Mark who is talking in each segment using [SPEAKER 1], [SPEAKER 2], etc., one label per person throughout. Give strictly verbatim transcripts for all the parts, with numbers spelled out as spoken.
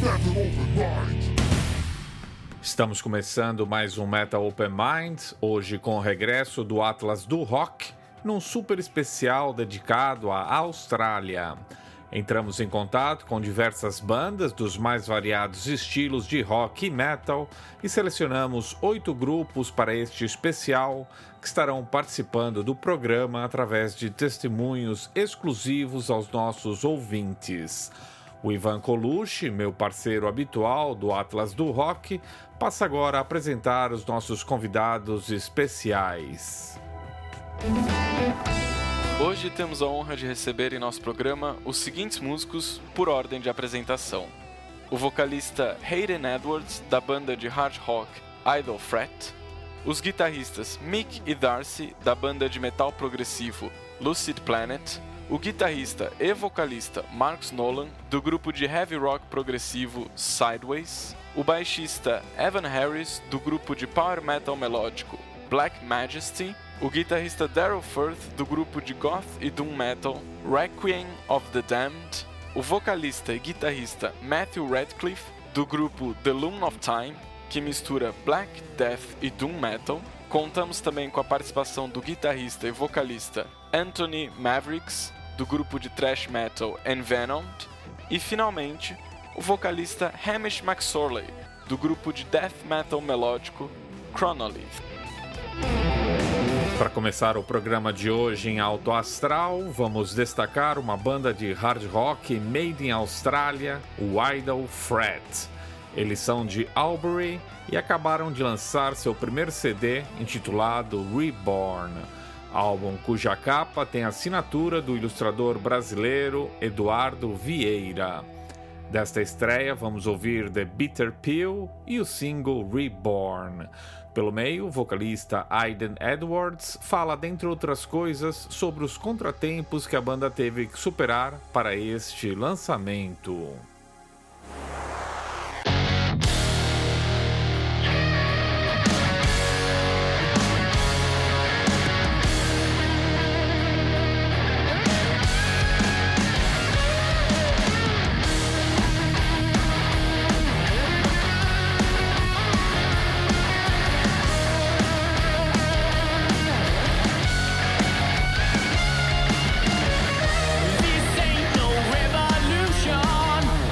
[SPEAKER 1] Estamos começando mais um Metal Open Mind, hoje com o regresso do Atlas do Rock, num super especial dedicado à Austrália. Entramos em contato com diversas bandas dos mais variados estilos de rock e metal e selecionamos oito grupos para este especial que estarão participando do programa através de testemunhos exclusivos aos nossos ouvintes. O Ivan Colucci, meu parceiro habitual do Atlas do Rock, passa agora a apresentar os nossos convidados especiais.
[SPEAKER 2] Hoje temos a honra de receber em nosso programa os seguintes músicos por ordem de apresentação. O vocalista Hayden Edwards, da banda de hard rock Idle Threat. Os guitarristas Mick e Darcy, da banda de metal progressivo Lucid Planet. O guitarrista e vocalista Marcus Nolan, do grupo de heavy rock progressivo Sideways. O baixista Evan Harris, do grupo de power metal melódico Black Majesty. O guitarrista Daryl Firth, do grupo de goth e doom metal Requiem of the Damned. O vocalista e guitarrista Matthew Radcliffe, do grupo The Loom of Time, que mistura black, death e doom metal. Contamos também com a participação do guitarrista e vocalista Anthony Mavericks, do grupo de thrash metal Envenomed. E, finalmente, o vocalista Hamish McSorley, do grupo de death metal melódico Chronolith.
[SPEAKER 1] Para começar o programa de hoje em alto astral, vamos destacar uma banda de hard rock made in Austrália, o Idle Threat. Eles são de Albury e acabaram de lançar seu primeiro C D intitulado Reborn, álbum cuja capa tem a assinatura do ilustrador brasileiro Eduardo Vieira. Desta estreia vamos ouvir The Bitter Pill e o single Reborn. Pelo meio, o vocalista Hayden Edwards fala, dentre outras coisas, sobre os contratempos que a banda teve que superar para este lançamento.
[SPEAKER 3] This ain't no revolution.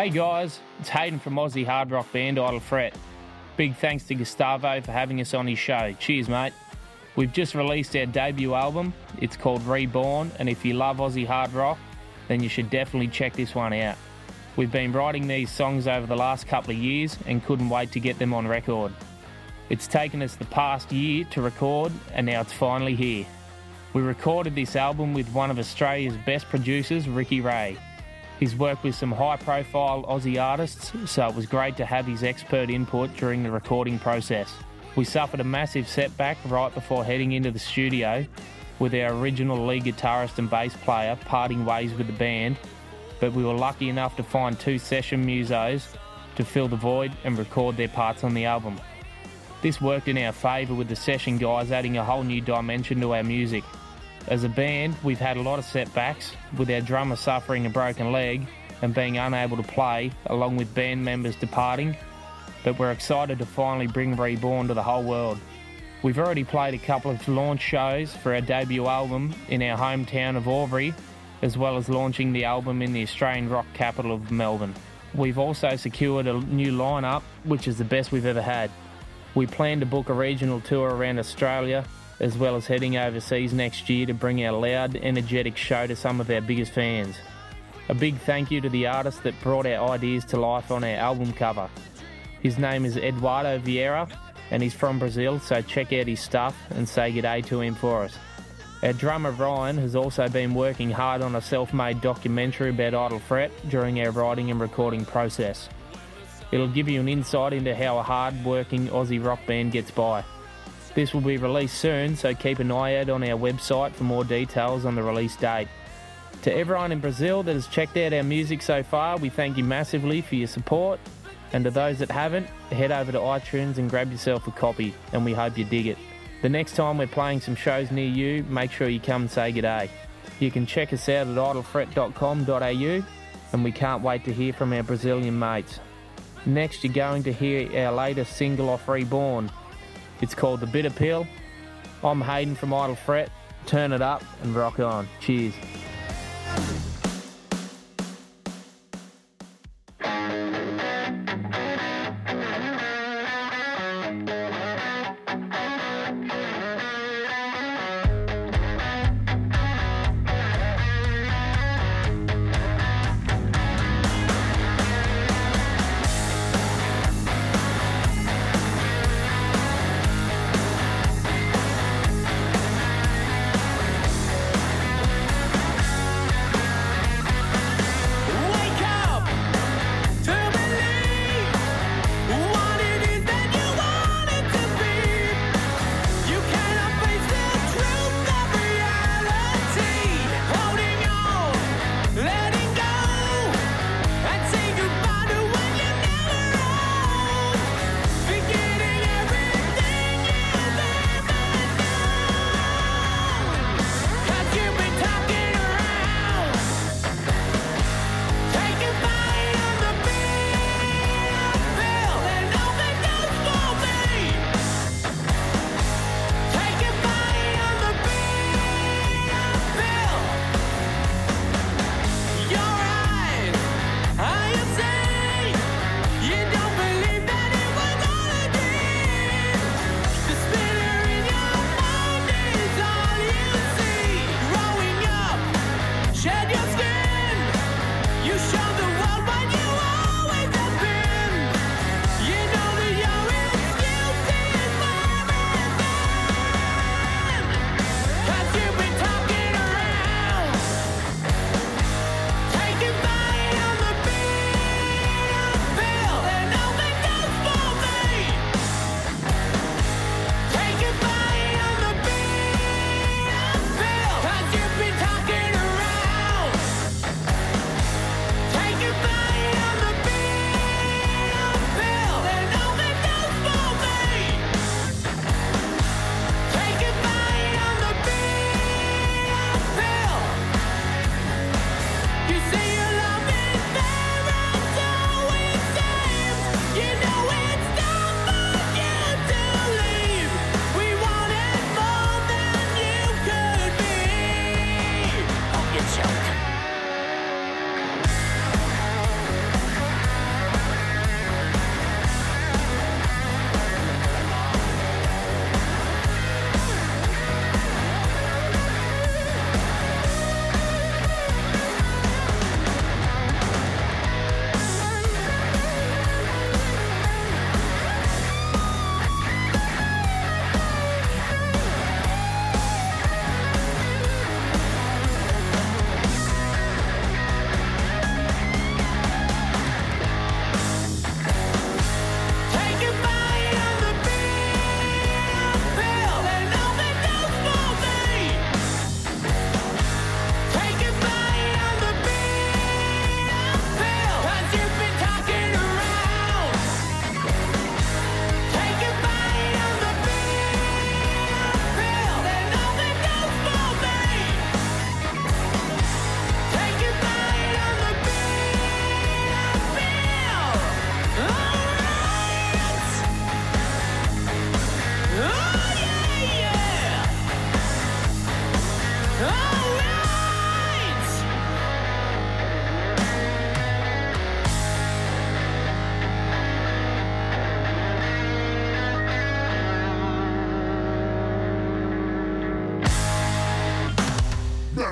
[SPEAKER 3] Hey guys, it's Hayden from Aussie hard rock band Idle Fret. Big thanks to Gustavo for having us on his show. Cheers, mate. We've just released our debut album. It's called Reborn, and if you love Aussie hard rock, then you should definitely check this one out. We've been writing these songs over the last couple of years and couldn't wait to get them on record. It's taken us the past year to record, and now it's finally here. We recorded this album with one of Australia's best producers, Ricky Ray. He's worked with some high-profile Aussie artists, so it was great to have his expert input during the recording process. We suffered a massive setback right before heading into the studio, with our original lead guitarist and bass player parting ways with the band, but we were lucky enough to find two session musos to fill the void and record their parts on the album. This worked in our favour, with the session guys adding a whole new dimension to our music. As a band, we've had a lot of setbacks, with our drummer suffering a broken leg and being unable to play, along with band members departing, but we're excited to finally bring Reborn to the whole world. We've already played a couple of launch shows for our debut album in our hometown of Albury, as well as launching the album in the Australian rock capital of Melbourne. We've also secured a new lineup, which is the best we've ever had. We plan to book a regional tour around Australia, as well as heading overseas next year to bring our loud, energetic show to some of our biggest fans. A big thank you to the artist that brought our ideas to life on our album cover. His name is Eduardo Vieira, and he's from Brazil, so check out his stuff and say g'day to him for us. Our drummer Ryan has also been working hard on a self-made documentary about Idle Fret during our writing and recording process. It'll give you an insight into how a hard-working Aussie rock band gets by. This will be released soon, so keep an eye out on our website for more details on the release date. To everyone in Brazil that has checked out our music so far, we thank you massively for your support. And to those that haven't, head over to iTunes and grab yourself a copy, and we hope you dig it. The next time we're playing some shows near you, make sure you come and say g'day. You can check us out at idle fret dot com dot a u, and we can't wait to hear from our Brazilian mates. Next, you're going to hear our latest single off Reborn. It's called The Bitter Pill. I'm Hayden from Idle Fret. Turn it up and rock on. Cheers.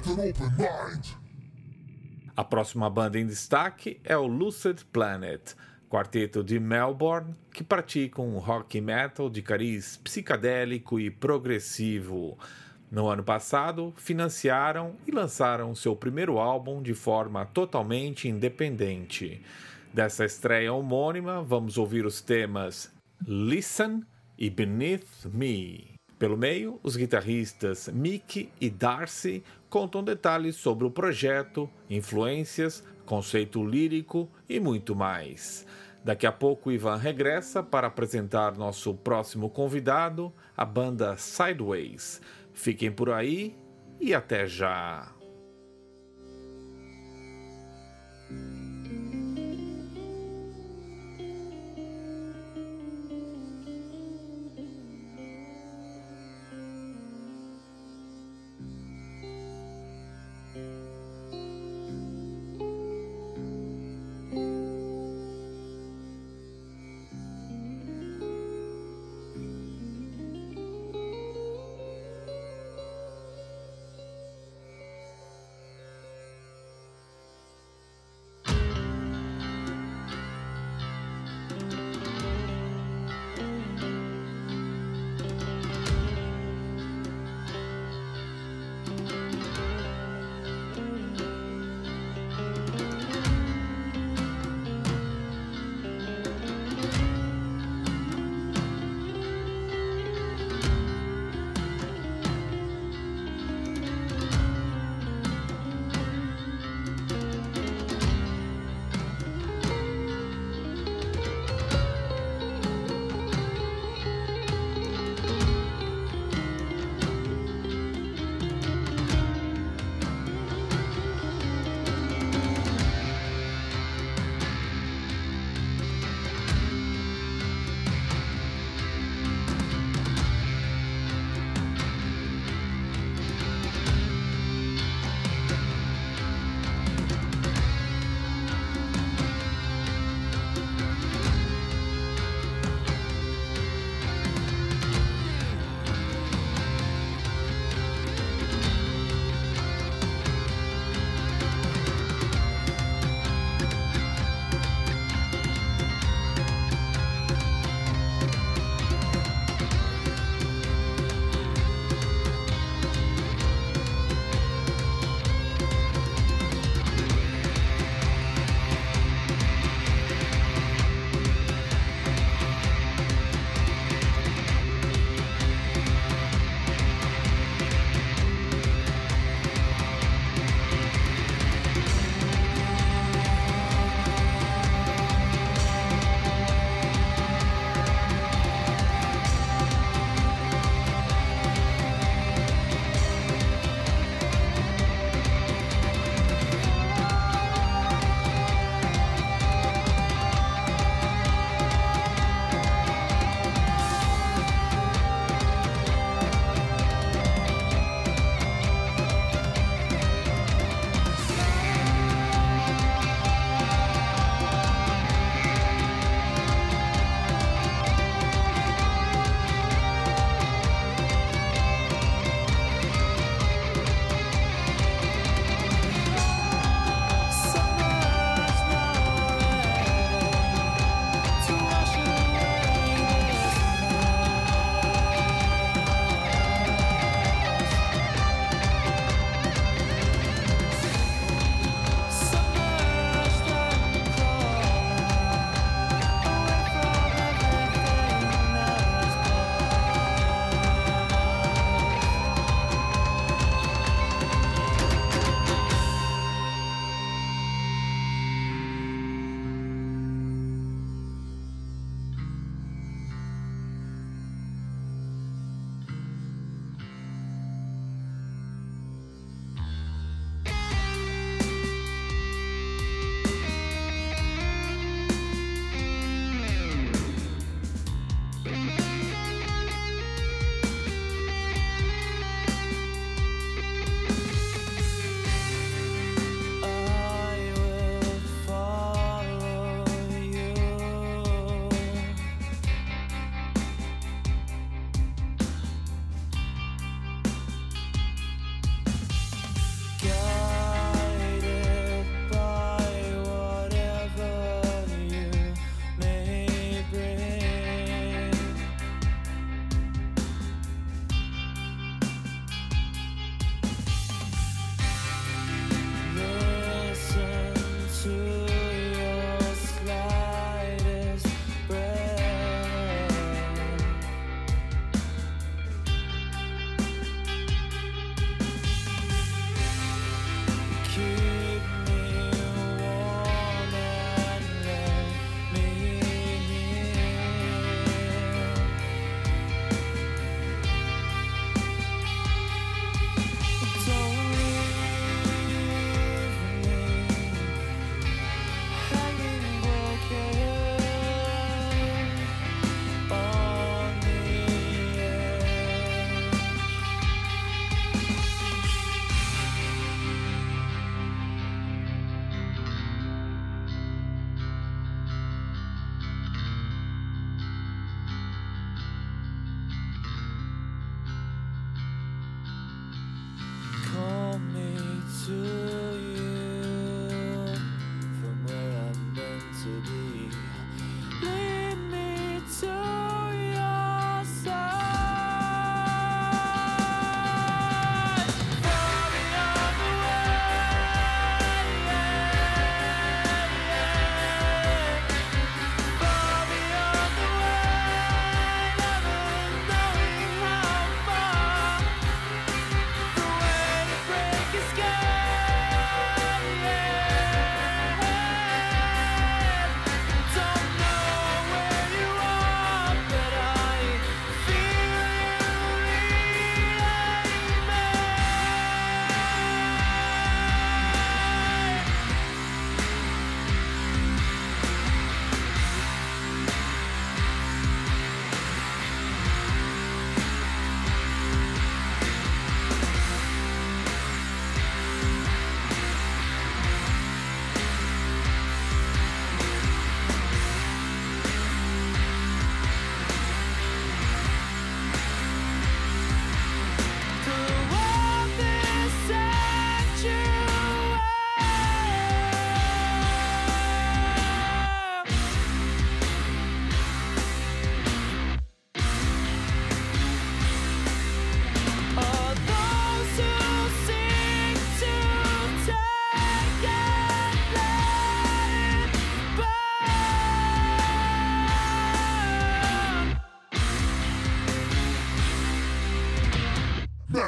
[SPEAKER 1] A próxima banda em destaque é o Lucid Planet, quarteto de Melbourne que pratica um rock metal de cariz psicadélico e progressivo. No ano passado, financiaram e lançaram seu primeiro álbum de forma totalmente independente. Dessa estreia homônima, vamos ouvir os temas Listen e Beneath Me. Pelo meio, os guitarristas Mick e Darcy contam detalhes sobre o projeto, influências, conceito lírico e muito mais. Daqui a pouco, Ivan regressa para apresentar nosso próximo convidado, a banda Sideways. Fiquem por aí e até já!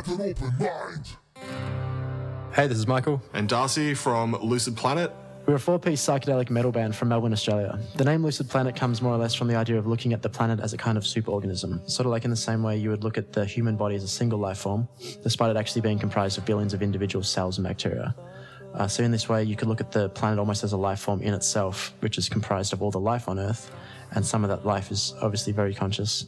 [SPEAKER 4] have an open mind.
[SPEAKER 5] Hey, this is Michael.
[SPEAKER 6] And Darcy from Lucid Planet.
[SPEAKER 5] We're a four-piece psychedelic metal band from Melbourne, Australia. The name Lucid Planet comes more or less from the idea of looking at the planet as a kind of superorganism, sort of like in the same way you would look at the human body as a single life form, despite it actually being comprised of billions of individual cells and bacteria. Uh, so in this way, you could look at the planet almost as a life form in itself, which is comprised of all the life on Earth, and some of that life is obviously very conscious.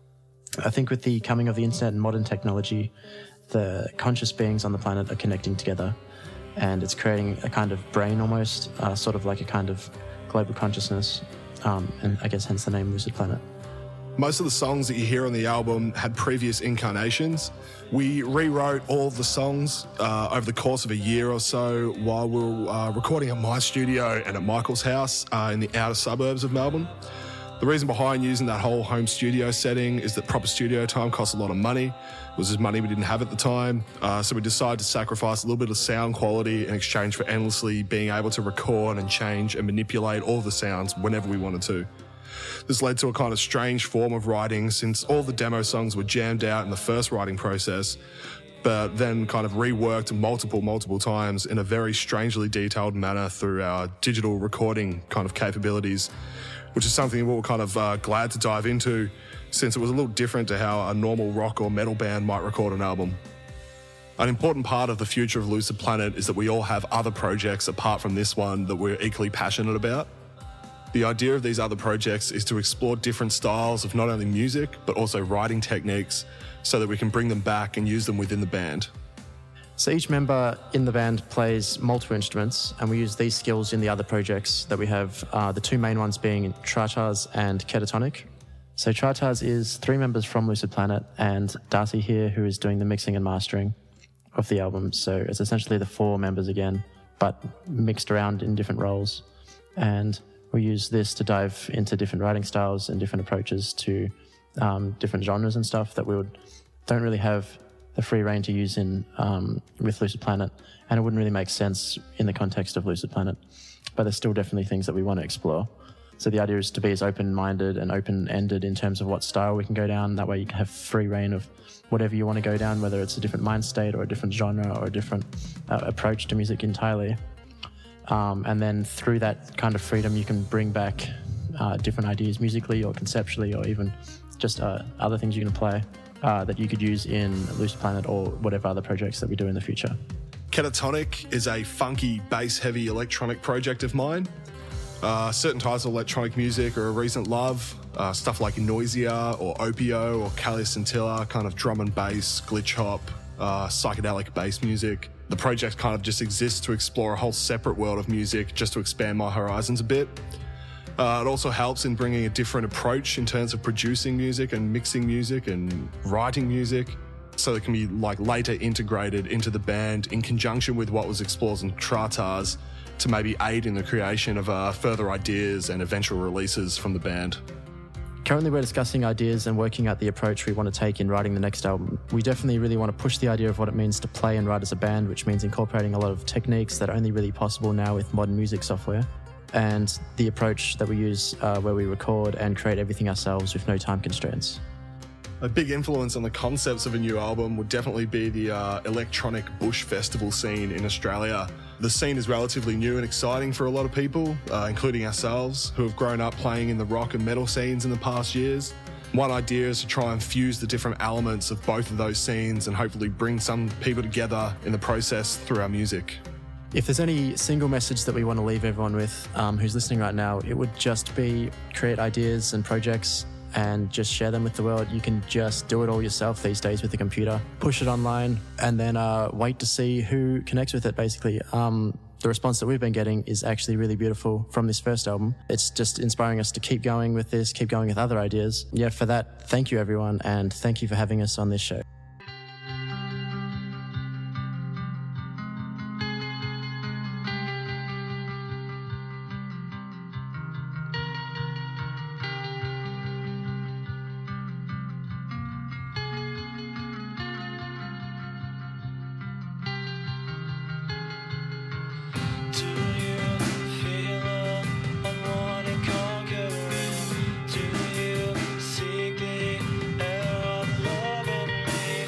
[SPEAKER 5] I think with the coming of the internet and modern technology, the conscious beings on the planet are connecting together, and it's creating a kind of brain almost, uh, sort of like a kind of global consciousness, um, and I guess hence the name Lucid Planet.
[SPEAKER 6] Most of the songs that you hear on the album had previous incarnations. We rewrote all of the songs uh, over the course of a year or so while we were uh, recording at my studio and at Michael's house uh, in the outer suburbs of Melbourne. The reason behind using that whole home studio setting is that proper studio time costs a lot of money. It was just money we didn't have at the time. Uh, so we decided to sacrifice a little bit of sound quality in exchange for endlessly being able to record and change and manipulate all the sounds whenever we wanted to. This led to a kind of strange form of writing since all the demo songs were jammed out in the first writing process, but then kind of reworked multiple, multiple times in a very strangely detailed manner through our digital recording kind of capabilities, which is something we were kind of uh, glad to dive into since it was a little different to how a normal rock or metal band might record an album. An important part of the future of Lucid Planet is that we all have other projects apart from this one that we're equally passionate about. The idea of these other projects is to explore different styles of not only music, but also writing techniques so that we can bring them back and use them within the band.
[SPEAKER 5] So each member in the band plays multiple instruments, and we use these skills in the other projects that we have, uh, the two main ones being Tratars and Ketatonic. So Tratars is three members from Lucid Planet and Darcy here, who is doing the mixing and mastering of the album. So it's essentially the four members again, but mixed around in different roles. And we use this to dive into different writing styles and different approaches to um, different genres and stuff that we would don't really have the free reign to use in um, with Lucid Planet, and it wouldn't really make sense in the context of Lucid Planet. But there's still definitely things that we want to explore. So the idea is to be as open-minded and open-ended in terms of what style we can go down. That way you can have free reign of whatever you want to go down, whether it's a different mind state or a different genre or a different uh, approach to music entirely. Um, and then through that kind of freedom, you can bring back uh, different ideas musically or conceptually, or even just uh, other things you can play uh, that you could use in Lucid Planet or whatever other projects that we do in the future.
[SPEAKER 6] Ketatonic is a funky, bass-heavy electronic project of mine. Uh, certain types of electronic music are a recent love, uh, stuff like Noisia or Opio or Callia Scintilla, kind of drum and bass, glitch hop, uh, psychedelic bass music. The project kind of just exists to explore a whole separate world of music, just to expand my horizons a bit. Uh, it also helps in bringing a different approach in terms of producing music and mixing music and writing music, so it can be like later integrated into the band in conjunction with what was explored in Tratars to maybe aid in the creation of uh, further ideas and eventual releases from the band.
[SPEAKER 5] Currently we're discussing ideas and working out the approach we want to take in writing the next album. We definitely really want to push the idea of what it means to play and write as a band, which means incorporating a lot of techniques that are only really possible now with modern music software, and the approach that we use uh, where we record and create everything ourselves with no time constraints.
[SPEAKER 6] A big influence on the concepts of a new album would definitely be the uh, electronic bush festival scene in Australia. The scene is relatively new and exciting for a lot of people, uh, including ourselves, who have grown up playing in the rock and metal scenes in the past years. One idea is to try and fuse the different elements of both of those scenes and hopefully bring some people together in the process through our music.
[SPEAKER 5] If there's any single message that we want to leave everyone with um, who's listening right now, it would just be create ideas and projects and just share them with the world. You can just do it all yourself these days with a computer, push it online, and then uh, wait to see who connects with it, basically. Um, the response that we've been getting is actually really beautiful from this first album. It's just inspiring us to keep going with this, keep going with other ideas. Yeah, for that, thank you everyone, and thank you for having us on this show.
[SPEAKER 7] Do you seek the air of love in me?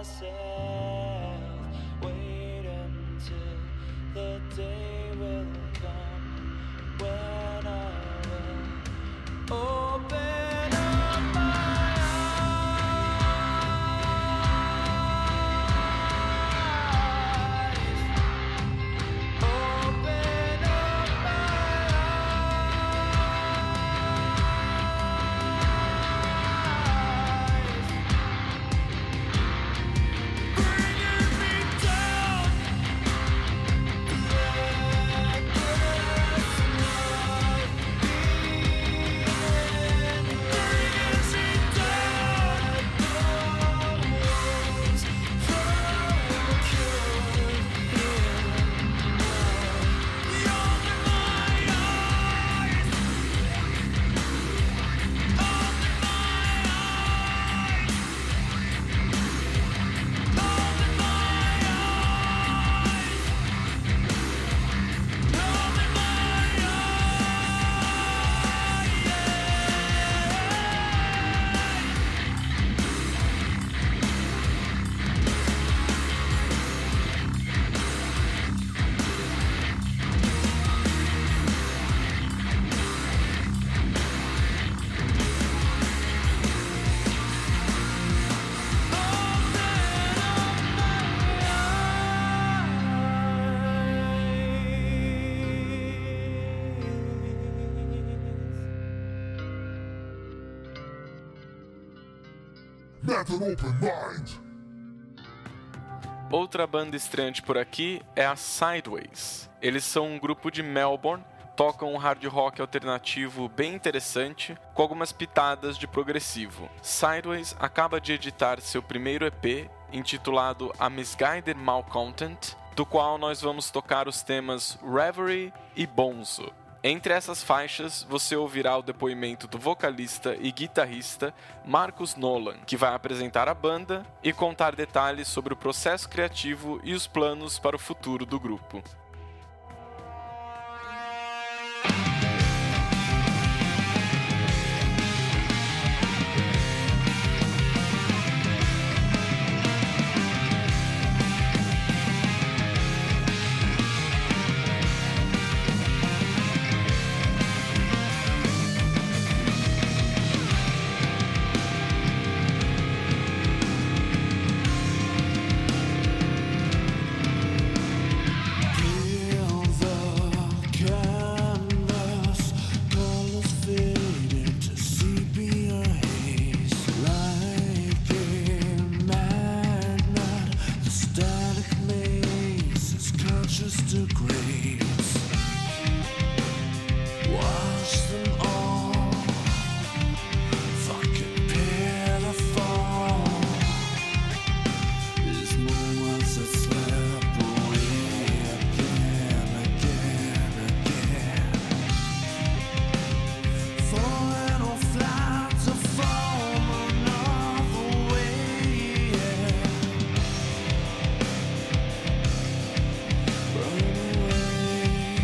[SPEAKER 4] myself, wait until the day will come when I will open up my eyes, open up my eyes, bringing me down. Let this love begin, bringing me down. Wounds procured in love. Open my eyes, open my eyes, open my eyes, open my
[SPEAKER 7] Let an open mind.
[SPEAKER 2] Outra banda estreante por aqui é a Sideways. Eles são um grupo de Melbourne, tocam um hard rock alternativo bem interessante, com algumas pitadas de progressivo. Sideways acaba de editar seu primeiro E P, intitulado A Misguided Malcontent, do qual nós vamos tocar os temas Reverie e Bonzo. Entre essas faixas, você ouvirá o depoimento do vocalista e guitarrista Marcus Nolan, que vai apresentar a banda e contar detalhes sobre o processo criativo e os planos para o futuro do grupo.
[SPEAKER 4] away.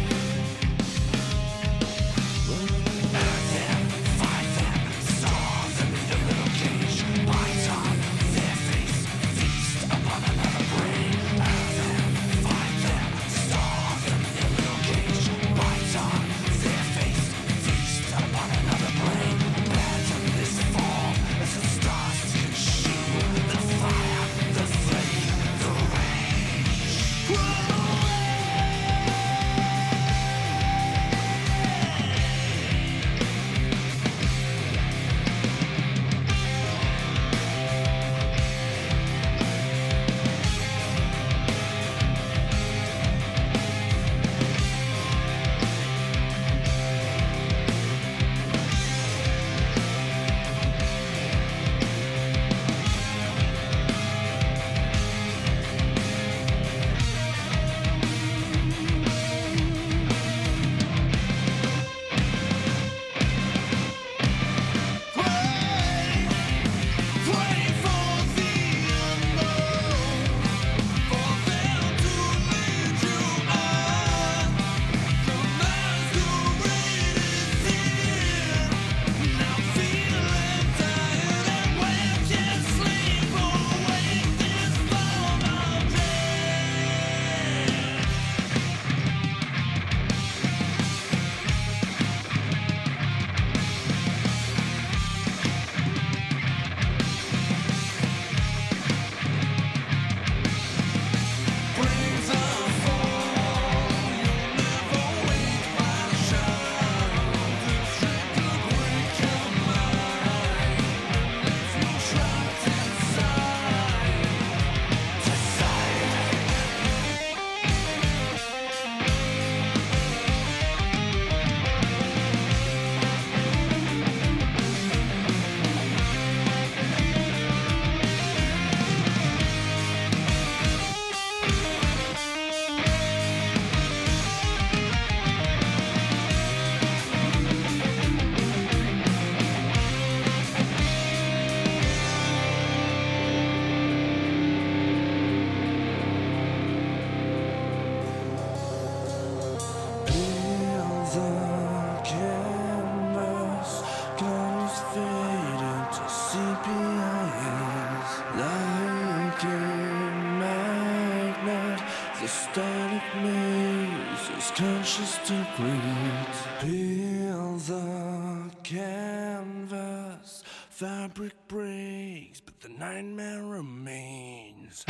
[SPEAKER 4] mazes, conscious degrees. Peel the canvas, fabric breaks, but the nightmare remains.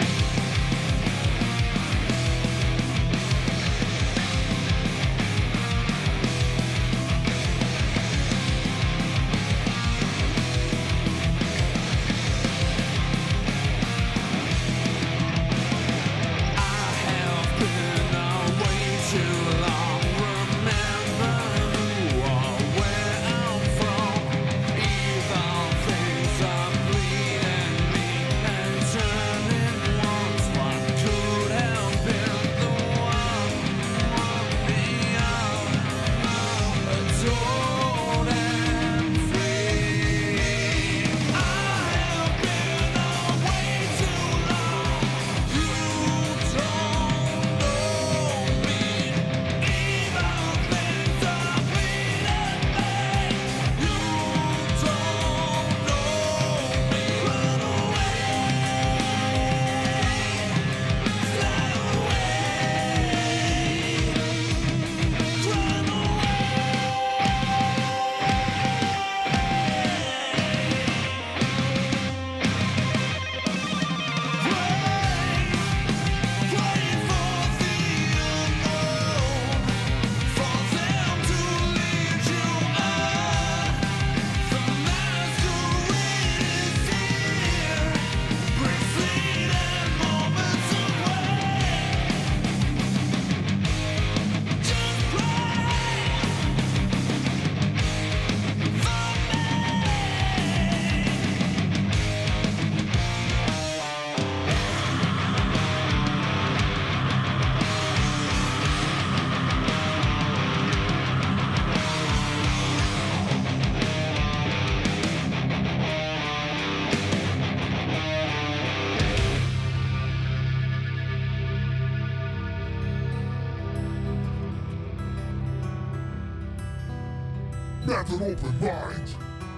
[SPEAKER 7] That's an open mind.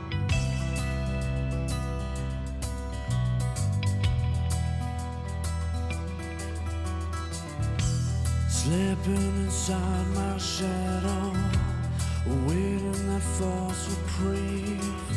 [SPEAKER 4] Slipping inside my shadow, waiting that false reprieve.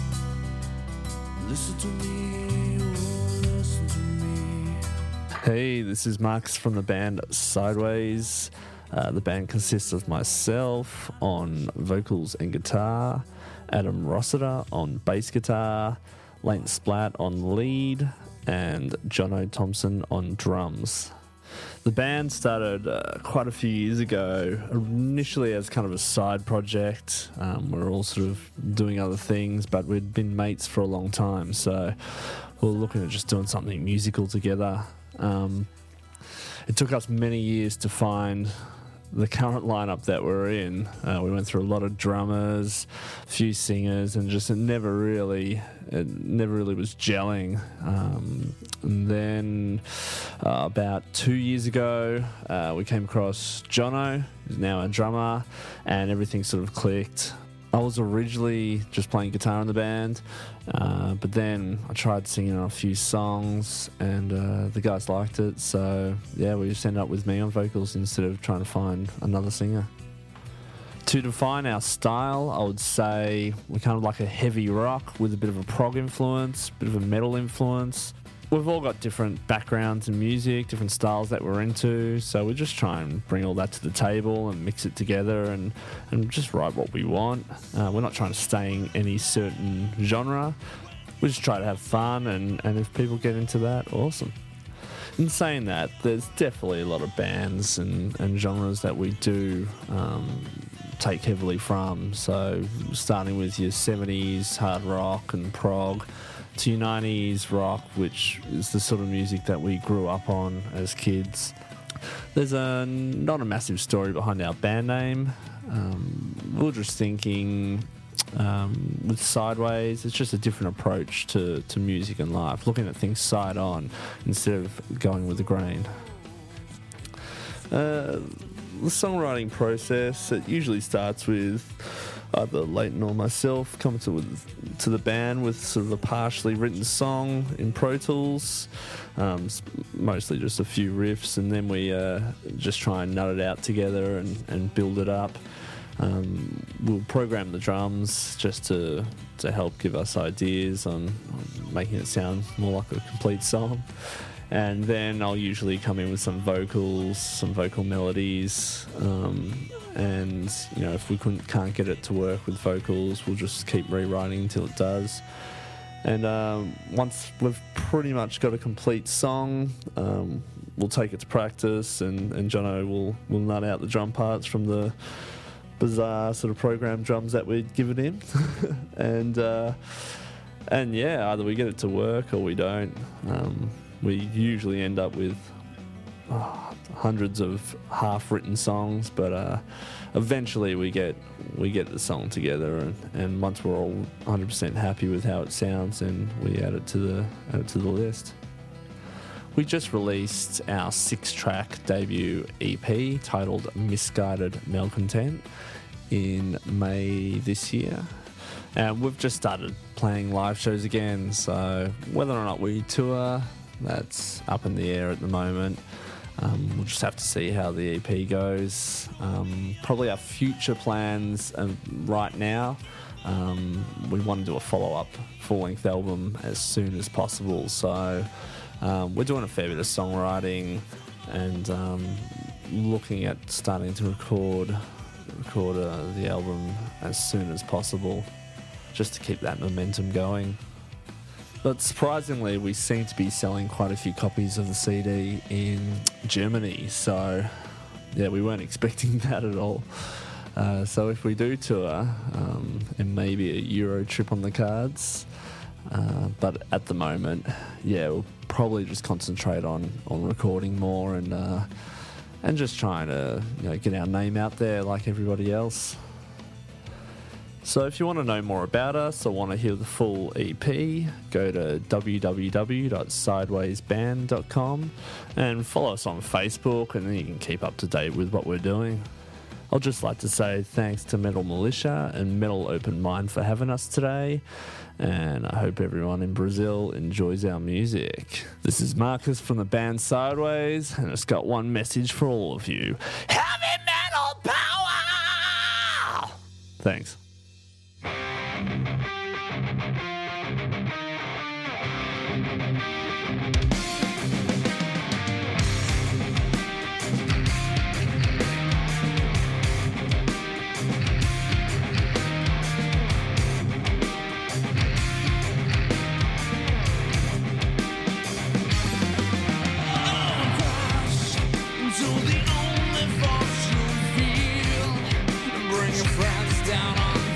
[SPEAKER 4] Listen to me, oh, listen to me.
[SPEAKER 8] Hey, this is Marcus from the band Sideways. Uh, the band consists of myself on vocals and guitar, Adam Rossiter on bass guitar, Lane Splat on lead, and Jono Thompson on drums. The band started uh, quite a few years ago, initially as kind of a side project. Um, we were all sort of doing other things, but we'd been mates for a long time, so we were looking at just doing something musical together. Um, it took us many years to find the current lineup that we're in. Uh, we went through a lot of drummers, a few singers, and just it never really, it never really was gelling. Um, and then uh, about two years ago, uh, we came across Jono, who's now a drummer, and everything sort of clicked. I was originally just playing guitar in the band, uh, but then I tried singing on a few songs, and uh, the guys liked it, so yeah, we just ended up with me on vocals instead of trying to find another singer. To define our style, I would say we're kind of like a heavy rock with a bit of a prog influence, a bit of a metal influence. We've all got different backgrounds in music, different styles that we're into, so we just try and bring all that to the table and mix it together and, and just write what we want. Uh, we're not trying to stay in any certain genre. We just try to have fun, and, and if people get into that, awesome. In saying that, there's definitely a lot of bands and, and genres that we do um, take heavily from, so starting with your seventies hard rock and prog, to nineties rock, which is the sort of music that we grew up on as kids. There's a not a massive story behind our band name. Um, we were just thinking um, with Sideways, it's just a different approach to, to music and life, looking at things side on instead of going with the grain. Uh, the songwriting process, it usually starts with either Leighton or myself come to with, to the band with sort of a partially written song in Pro Tools, um, mostly just a few riffs, and then we uh, just try and nut it out together and, and build it up. Um, we'll program the drums just to to help give us ideas on, on making it sound more like a complete song. And then I'll usually come in with some vocals, some vocal melodies, um, and you know, if we couldn't, can't get it to work with vocals, we'll just keep rewriting until it does. And um, once we've pretty much got a complete song, um, we'll take it to practice, and, and Jono will, will nut out the drum parts from the bizarre sort of program drums that we'd given him. and uh, and yeah, either we get it to work or we don't. Um, we usually end up with oh, hundreds of half-written songs, but uh, eventually we get we get the song together, and, and once we're all one hundred percent happy with how it sounds, then we add it to the add it to the list. We just released our six-track debut E P titled Misguided Malcontent in May this year. And we've just started playing live shows again, so whether or not we tour, that's up in the air at the moment. Um, we'll just have to see how the E P goes. Um, probably our future plans um, right now, um, we want to do a follow-up full-length album as soon as possible, so Um, we're doing a fair bit of songwriting and um, looking at starting to record record uh, the album as soon as possible, just to keep that momentum going. But surprisingly, we seem to be selling quite a few copies of the C D in Germany, so yeah, we weren't expecting that at all. Uh, so if we do tour, um, and maybe a Euro trip on the cards, uh, but at the moment, yeah, we'll probably just concentrate on, on recording more and uh, and just trying to, you know, get our name out there like everybody else. So if you want to know more about us or want to hear the full E P, go to w w w dot sideways band dot com and follow us on Facebook, and then you can keep up to date with what we're doing. I'd just like to say thanks to Metal Militia and Metal Open Mind for having us today, and I hope everyone in Brazil enjoys our music. This is Marcus from the band Sideways, and it's got one message for all of you. Heavy metal power! Thanks.
[SPEAKER 4] Until the only force you feel, bring your friends down on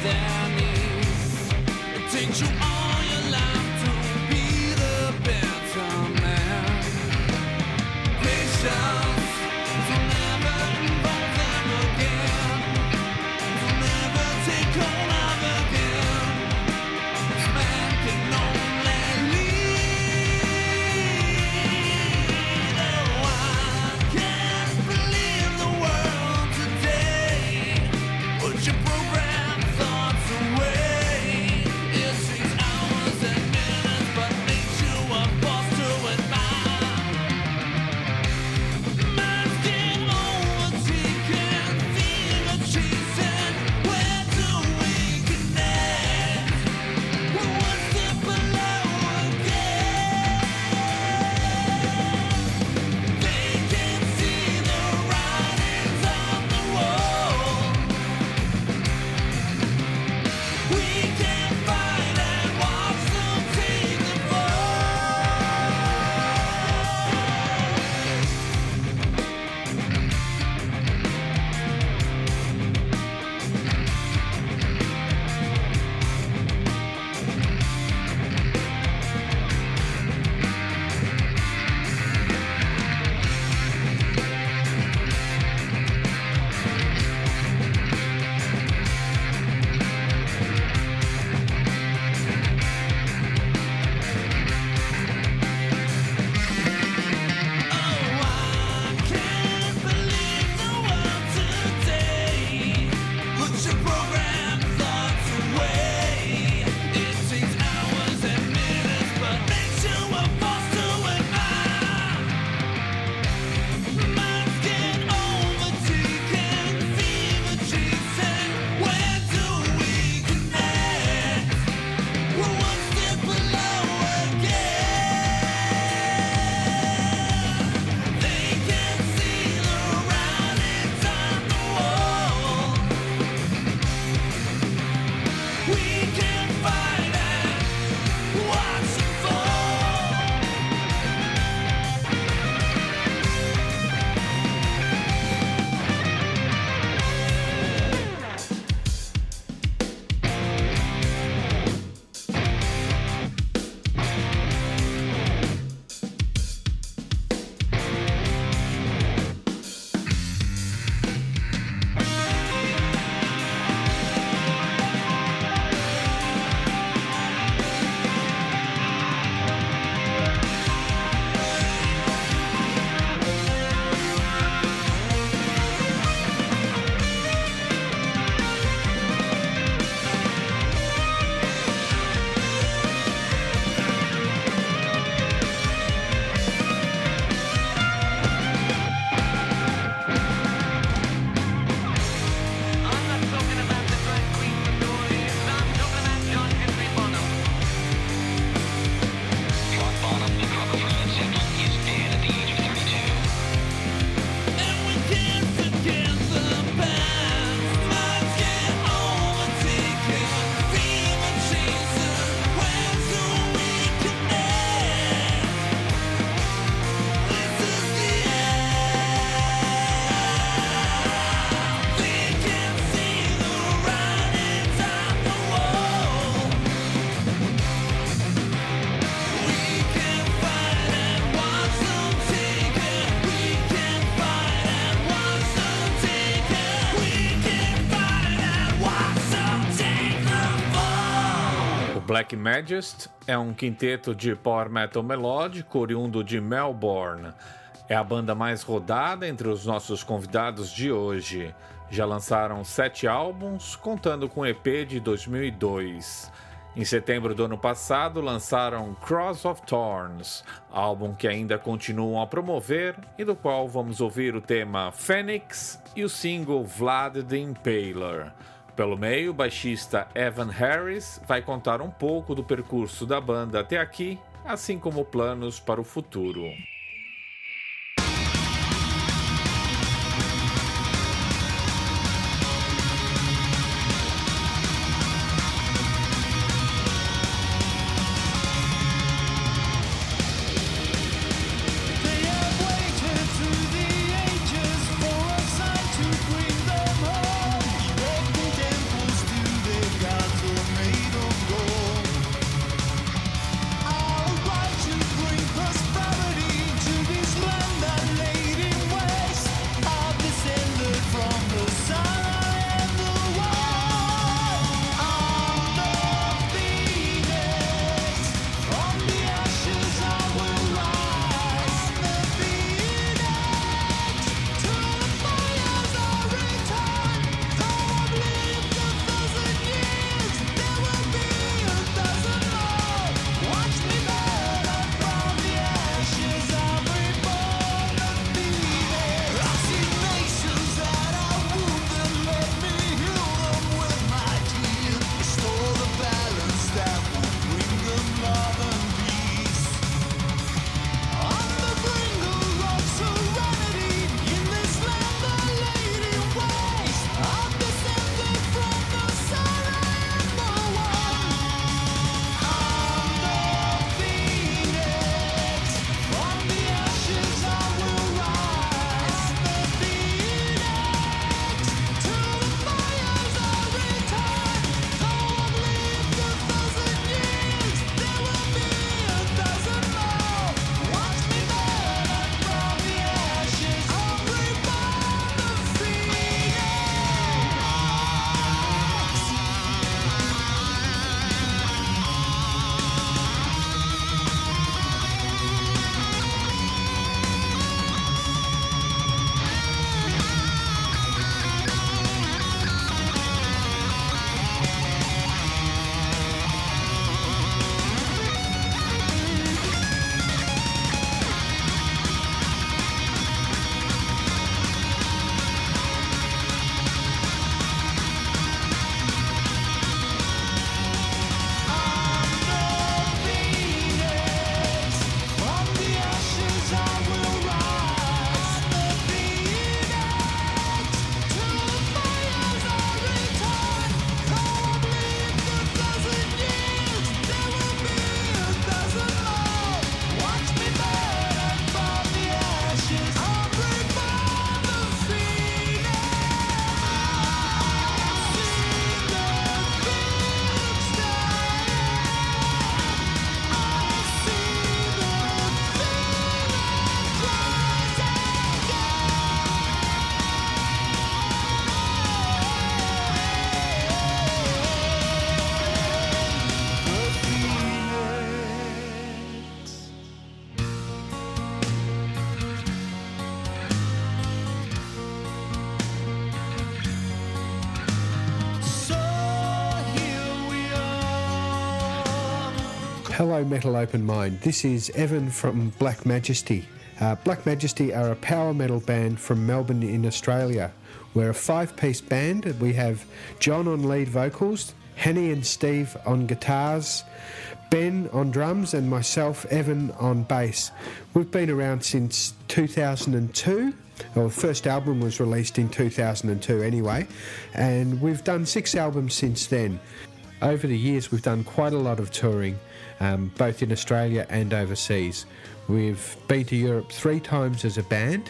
[SPEAKER 1] Black Majesty é um quinteto de power metal melódico oriundo de Melbourne. É a banda mais rodada entre os nossos convidados de hoje. Já lançaram sete álbuns, contando com o E P de dois mil e dois. Em setembro do ano passado, lançaram Cross of Thorns, álbum que ainda continuam a promover e do qual vamos ouvir o tema Phoenix e o single Vlad the Impaler. Pelo meio, o baixista Evan Harris vai contar um pouco do percurso da banda até aqui, assim como planos para o futuro.
[SPEAKER 9] Hello Metal Open Mind, this is Evan from Black Majesty. Uh, Black Majesty are a power metal band from Melbourne in Australia. We're a five-piece band. We have John on lead vocals, Henny and Steve on guitars, Ben on drums and myself, Evan, on bass. We've been around since two thousand two. Well, the first album was released in two thousand two anyway, and we've done six albums since then. Over the years we've done quite a lot of touring, um, both in Australia and overseas. We've been to Europe three times as a band,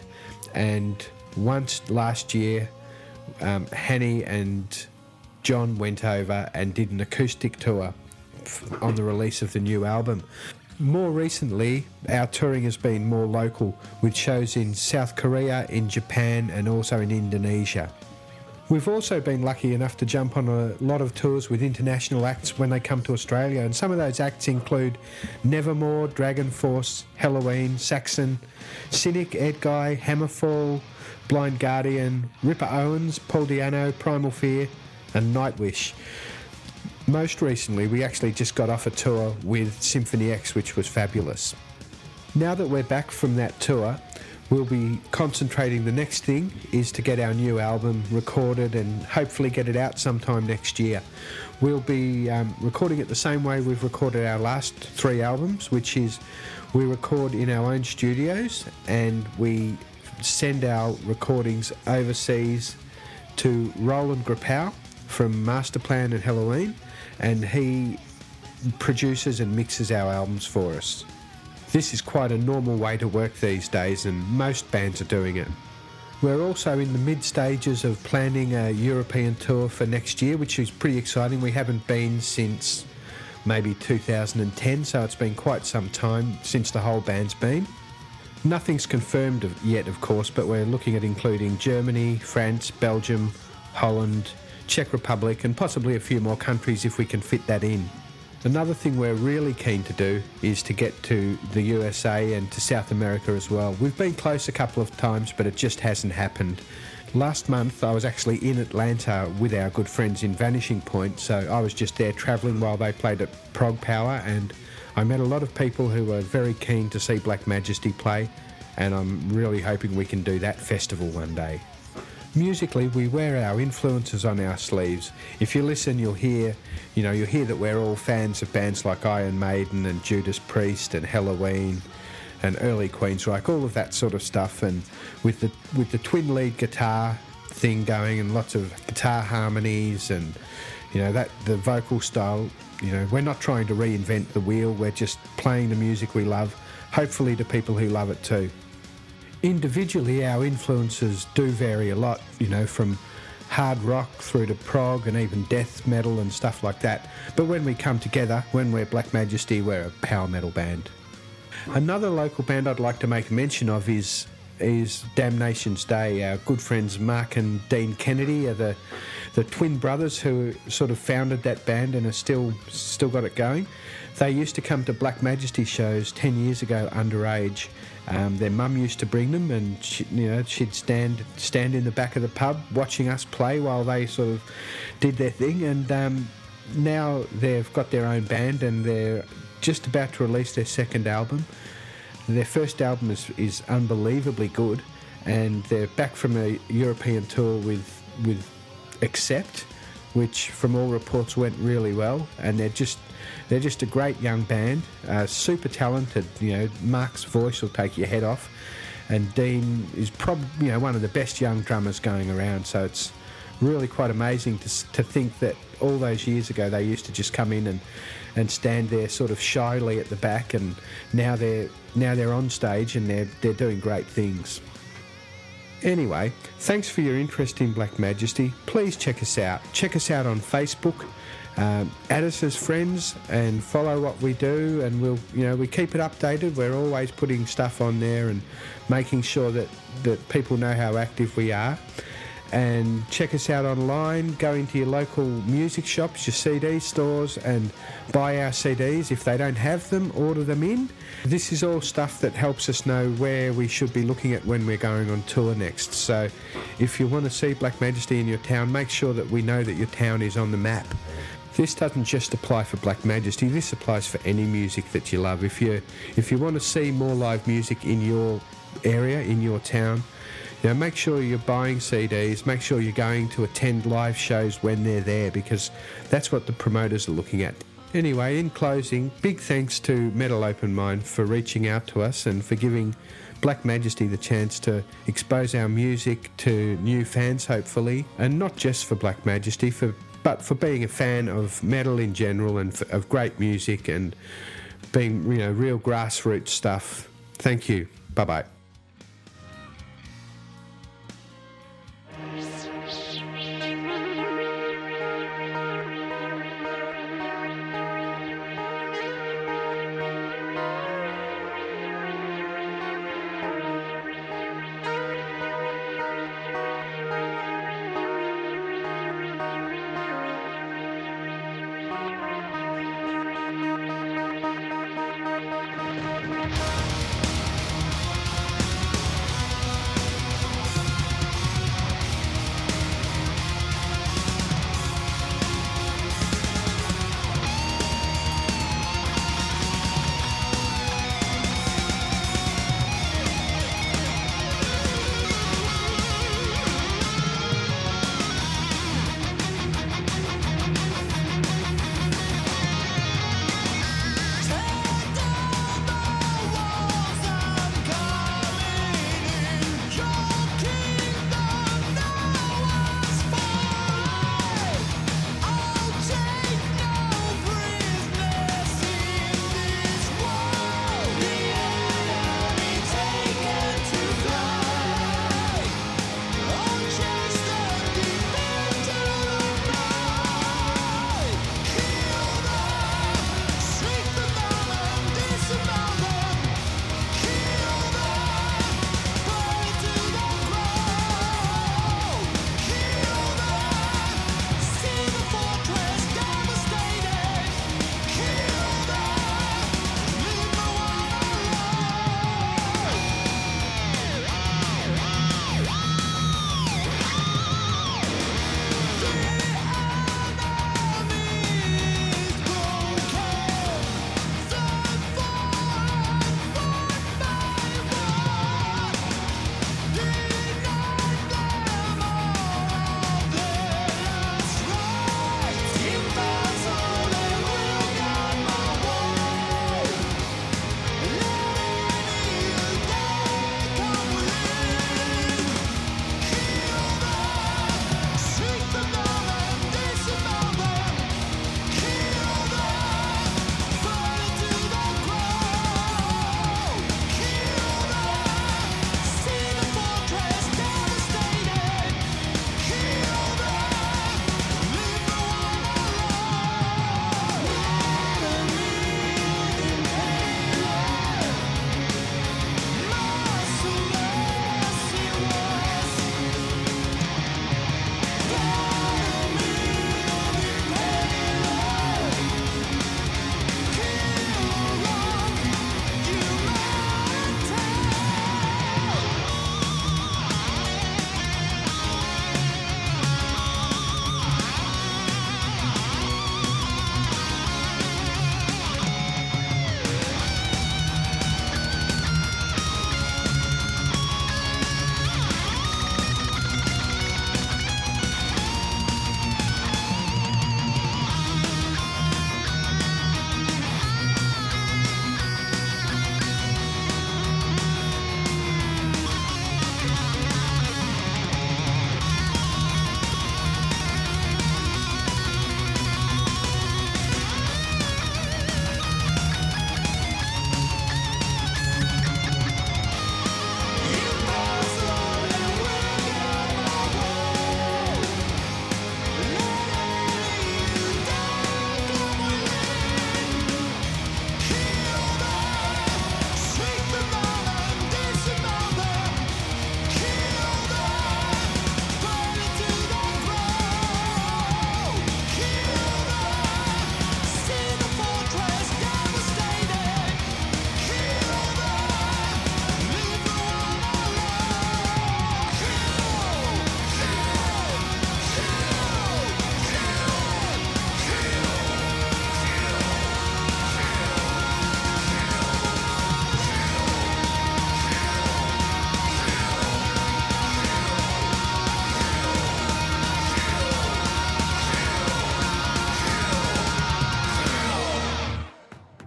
[SPEAKER 9] and once last year um, Henny and John went over and did an acoustic tour on the release of the new album. More recently, our touring has been more local, with shows in South Korea, in Japan and also in Indonesia. We've also been lucky enough to jump on a lot of tours with international acts when they come to Australia, and some of those acts include Nevermore, Dragon Force, Helloween, Saxon, Cynic, Ed Guy, Hammerfall, Blind Guardian, Ripper Owens, Paul Diano, Primal Fear and Nightwish. Most recently, we actually just got off a tour with Symphony X, which was fabulous. Now that we're back from that tour, we'll be concentrating. The next thing is to get our new album recorded and hopefully get it out sometime next year. We'll be um, recording it the same way we've recorded our last three albums, which is we record in our own studios and we send our recordings overseas to Roland Grapau from Masterplan and Helloween, and he produces and mixes our albums for us. This is quite a normal way to work these days, and most bands are doing it. We're also in the mid stages of planning a European tour for next year, which is pretty exciting. We haven't been since maybe two thousand ten, so it's been quite some time since the whole band's been. Nothing's confirmed yet, of course, but we're looking at including Germany, France, Belgium, Holland, Czech Republic, and possibly a few more countries if we can fit that in. Another thing we're really keen to do is to get to the U S A and to South America as well. We've been close a couple of times, but it just hasn't happened. Last month I was actually in Atlanta with our good friends in Vanishing Point, so I was just there travelling while they played at Prog Power, and I met a lot of people who were very keen to see Black Majesty play, and I'm really hoping we can do that festival one day. Musically, we wear our influences on our sleeves. If you listen, you'll hear, you know, you'll hear that we're all fans of bands like Iron Maiden and Judas Priest and Helloween and early Queensryche, all of that sort of stuff. And with the with the twin lead guitar thing going and lots of guitar harmonies and, you know, that the vocal style, you know, we're not trying to reinvent the wheel. We're just playing the music we love, hopefully to people who love it too. Individually, our influences do vary a lot, you know, from hard rock through to prog and even death metal and stuff like that. But when we come together, when we're Black Majesty, we're a power metal band. Another local band I'd like to make mention of is is Damnation's Day. Our good friends Mark and Dean Kennedy are the the twin brothers who sort of founded that band and are still still got it going. They used to come to Black Majesty shows ten years ago underage. Um, their mum used to bring them, and she, you know, she'd stand stand in the back of the pub watching us play while they sort of did their thing. And um, now they've got their own band, and they're just about to release their second album. Their first album is, is unbelievably good, and they're back from a European tour with with Accept, which from all reports went really well, and they're just they're just a great young band, uh, super talented. You know, Mark's voice will take your head off, and Dean is probably, you know, one of the best young drummers going around. So it's really quite amazing to to think that all those years ago they used to just come in and, and stand there sort of shyly at the back, and now they're now they're on stage and they're they're doing great things. Anyway, thanks for your interest in Black Majesty. Please check us out. Check us out on Facebook. Um, add us as friends and follow what we do, and we'll, you know, we keep it updated. We're always putting stuff on there and making sure that, that people know how active we are. And check us out online. Go into your local music shops, your C D stores, and buy our C Ds. If they don't have them, order them in. This is all stuff that helps us know where we should be looking at when we're going on tour next. So if you want to see Black Majesty in your town, make sure that we know that your town is on the map. This doesn't just apply for Black Majesty, this applies for any music that you love. If you if you want to see more live music in your area, in your town, you know, make sure you're buying C Ds, make sure you're going to attend live shows when they're there, because that's what the promoters are looking at. Anyway, in closing, big thanks to Metal Open Mind for reaching out to us and for giving Black Majesty the chance to expose our music to new fans, hopefully, and not just for Black Majesty, for but for being a fan of metal in general and for, of great music and being, you know, real grassroots stuff. Thank you. Bye-bye.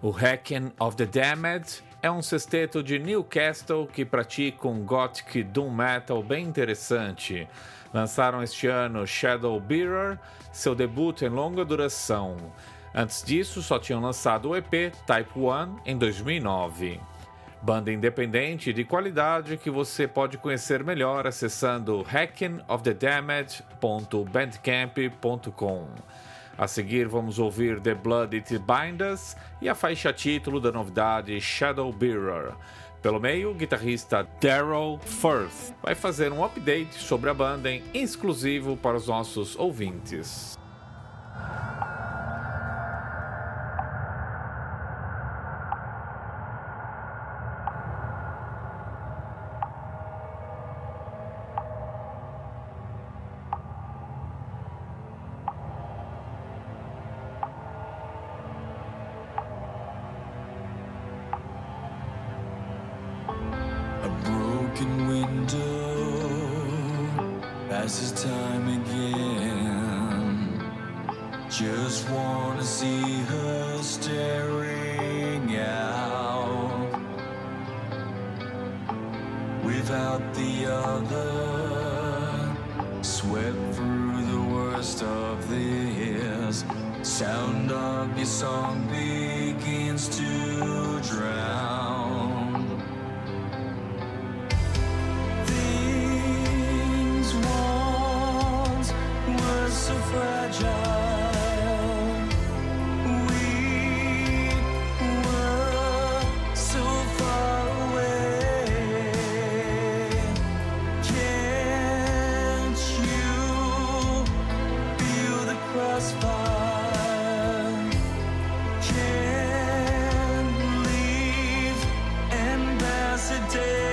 [SPEAKER 1] O Hacking of the Damned é um sexteto de Newcastle que pratica um gothic doom metal bem interessante. Lançaram este ano Shadowbearer, seu debut em longa duração. Antes disso, só tinham lançado o E P Type one em dois mil e nove. Banda independente de qualidade que você pode conhecer melhor acessando hacking of the damned ponto bandcamp ponto com. A seguir vamos ouvir The Blood It Binds Us e a faixa título da novidade Shadowbearer. Pelo meio, o guitarrista Daryl Firth vai fazer um update sobre a banda em exclusivo para os nossos ouvintes.
[SPEAKER 4] Passes time again. Just wanna see her staring out without the other. Swept through the worst of this. Sound of your song begins to drown. So fragile, we were so far away. Can't you feel the crossfire? Can't leave Ambassador.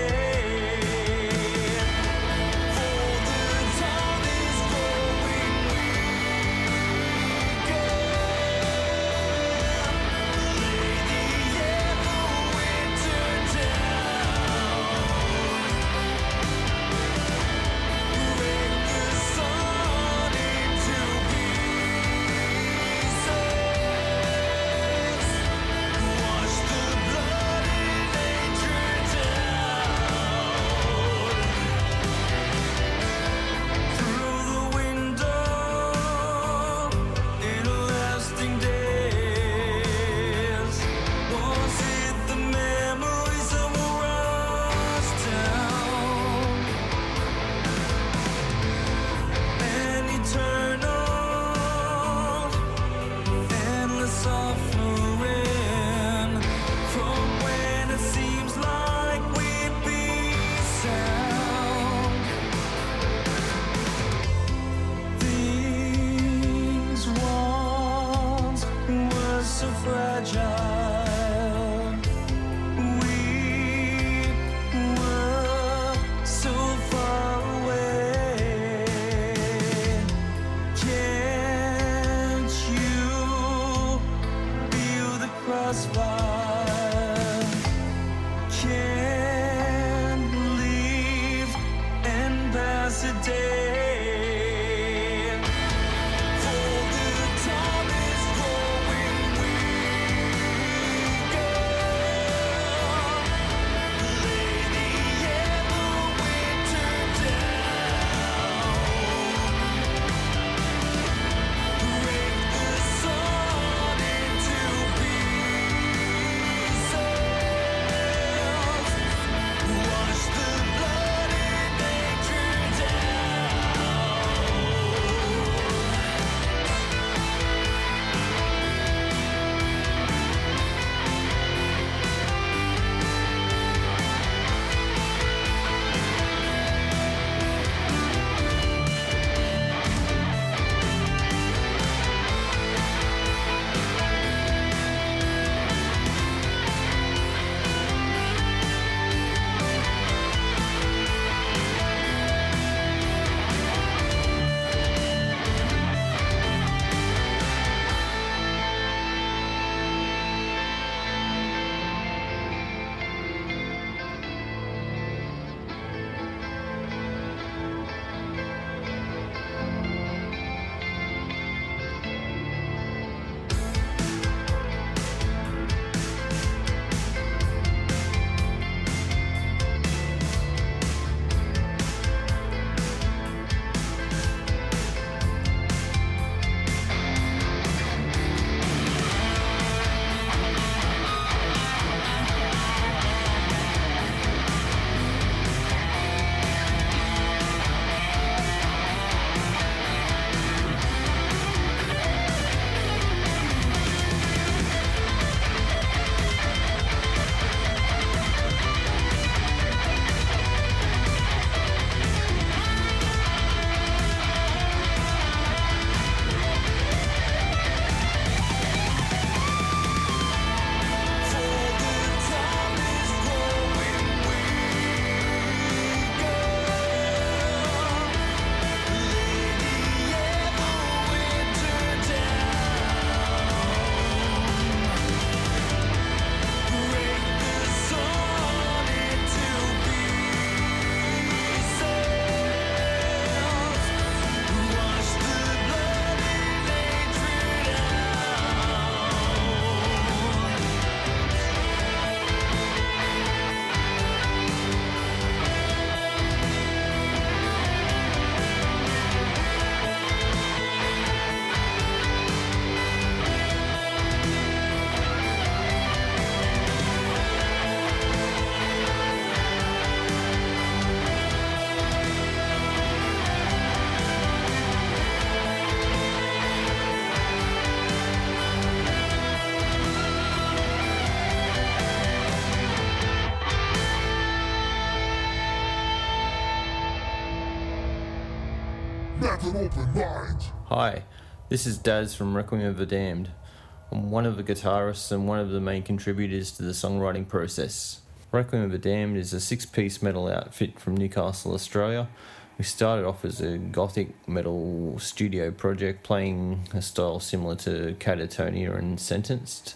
[SPEAKER 7] an open mind.
[SPEAKER 10] Hi, this is Daz from Requiem of the Damned. I'm one of the guitarists and one of the main contributors to the songwriting process. Requiem of the Damned is a six-piece metal outfit from Newcastle, Australia. We started off as a gothic metal studio project playing a style similar to Catatonia and Sentenced.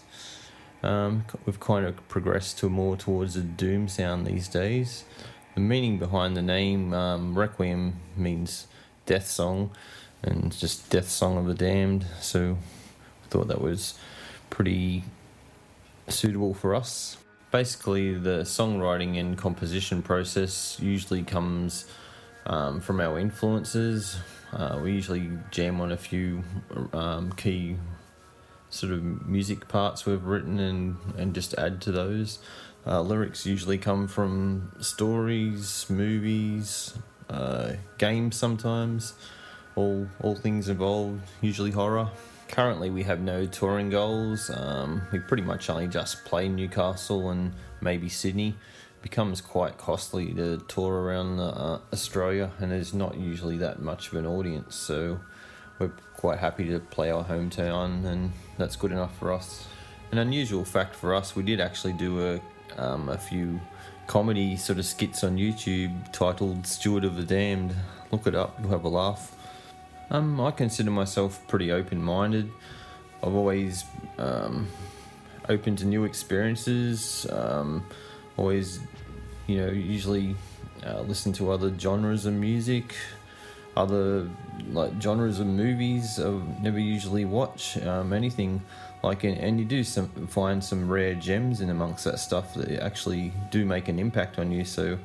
[SPEAKER 10] Um, we've kind of progressed to more towards a doom sound these days. The meaning behind the name, um, Requiem, means death song, and just death song of the damned, so I thought that was pretty suitable for us. Basically, the songwriting and composition process usually comes um, from our influences. Uh, we usually jam on a few um, key sort of music parts we've written and, and just add to those. Uh, lyrics usually come from stories, movies, uh, games sometimes, all all things involved, usually horror. Currently we have no touring goals. Um, we pretty much only just play Newcastle and maybe Sydney. It becomes quite costly to tour around uh, Australia, and there's not usually that much of an audience, so we're quite happy to play our hometown, and that's good enough for us. An unusual fact for us, we did actually do a um, a few comedy sort of skits on YouTube titled Steward of the Damned. Look it up, you'll have a laugh. Um, I consider myself pretty open-minded. I've always um, open to new experiences, um, always, you know, usually uh, listen to other genres of music, other like genres of movies I never usually watch, um, anything like, and, and you do some, find some rare gems in amongst that stuff that actually do make an impact on you. So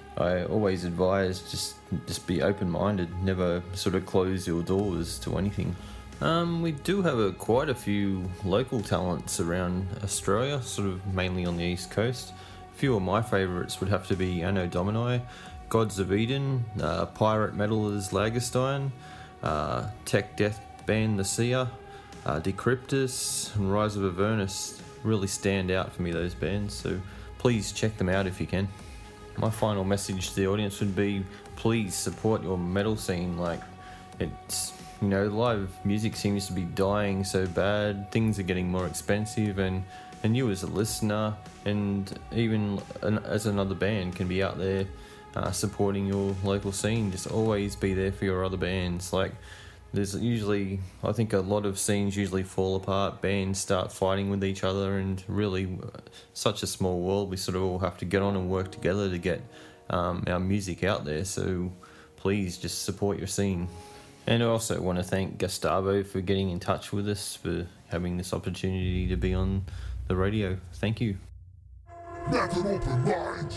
[SPEAKER 10] I always advise just just be open-minded, never sort of close your doors to anything. Um, we do have a, quite a few local talents around Australia, sort of mainly on the east coast. A few of my favourites would have to be Anno Domini, Gods of Eden, uh, Pirate Metalers Lagerstein, uh, tech death band The Seer, uh, Decryptus, and Rise of Avernus really stand out for me, those bands, so please check them out if you can. My final message to the audience would be, please support your metal scene. Like, it's, you know, live music seems to be dying so bad, things are getting more expensive, and, and you as a listener and even an, as another band can be out there uh, supporting your local scene. Just always be there for your other bands. Like, there's usually, I think a lot of scenes usually fall apart, bands start fighting with each other, and really such a small world, we sort of all have to get on and work together to get um, our music out there, so please just support your scene. And I also want to thank Gustavo for getting in touch with us, for having this opportunity to be on the radio. Thank you.
[SPEAKER 7] Not an open mind.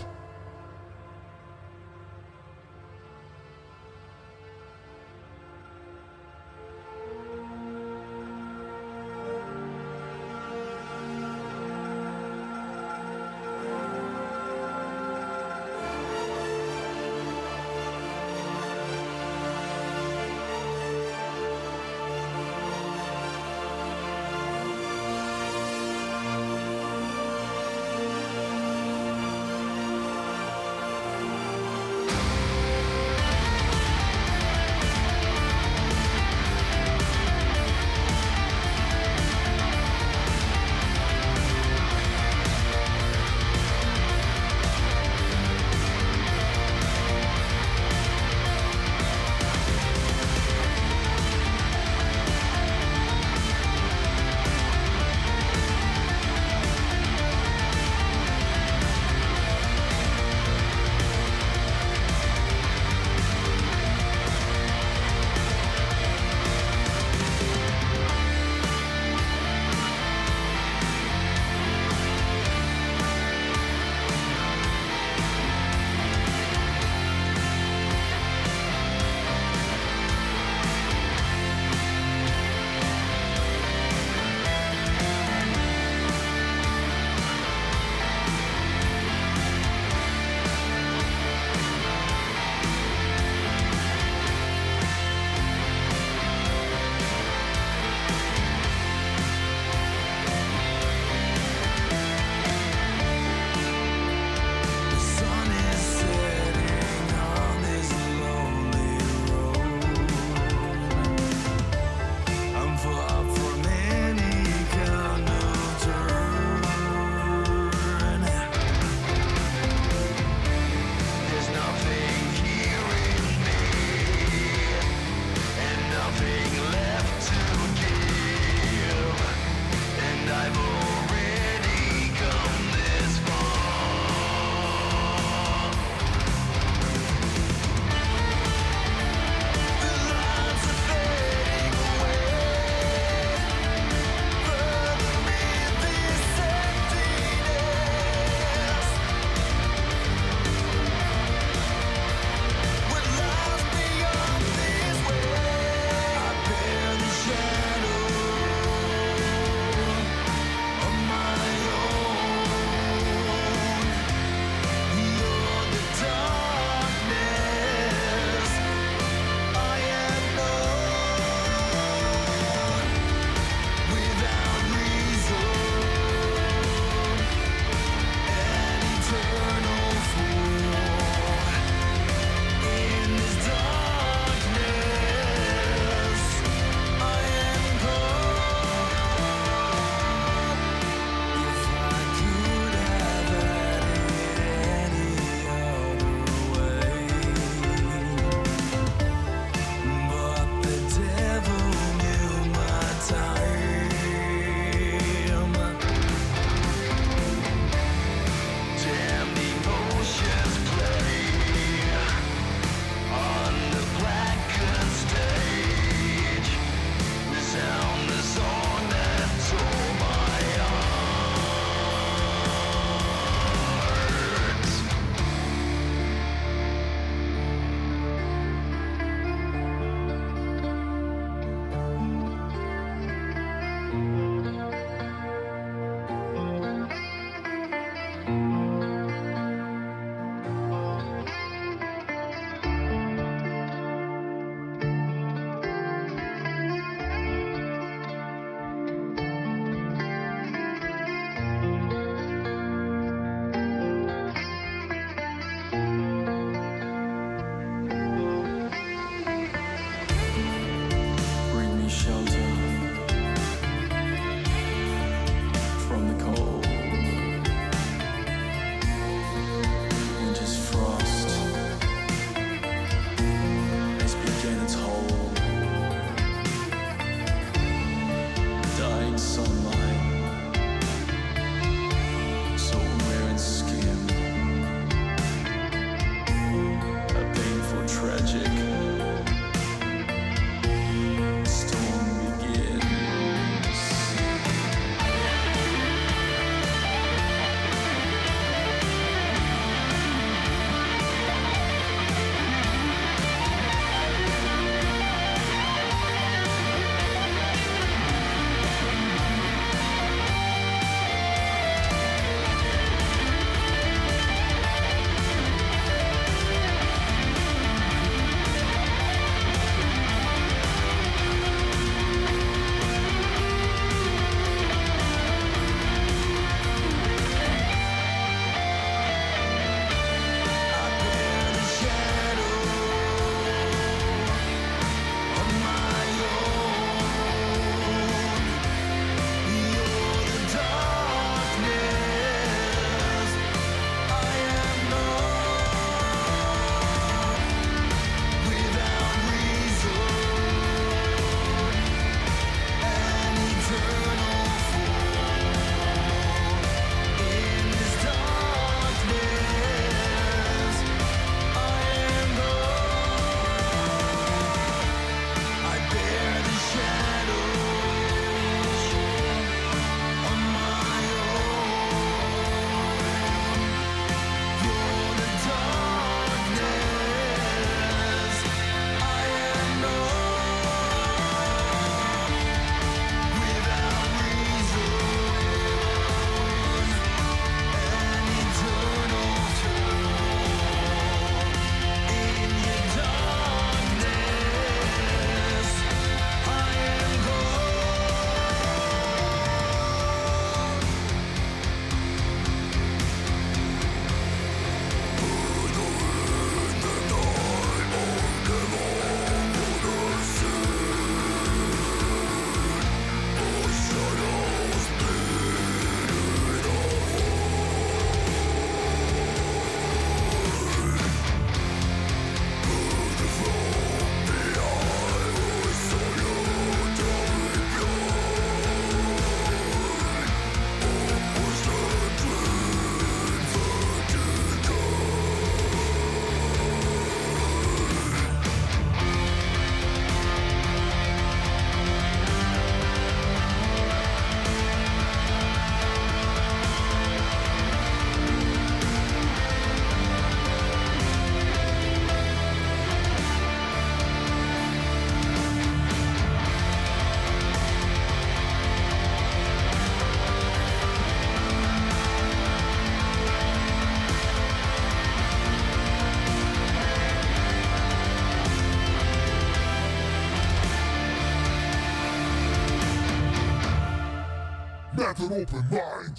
[SPEAKER 7] Let an open mind.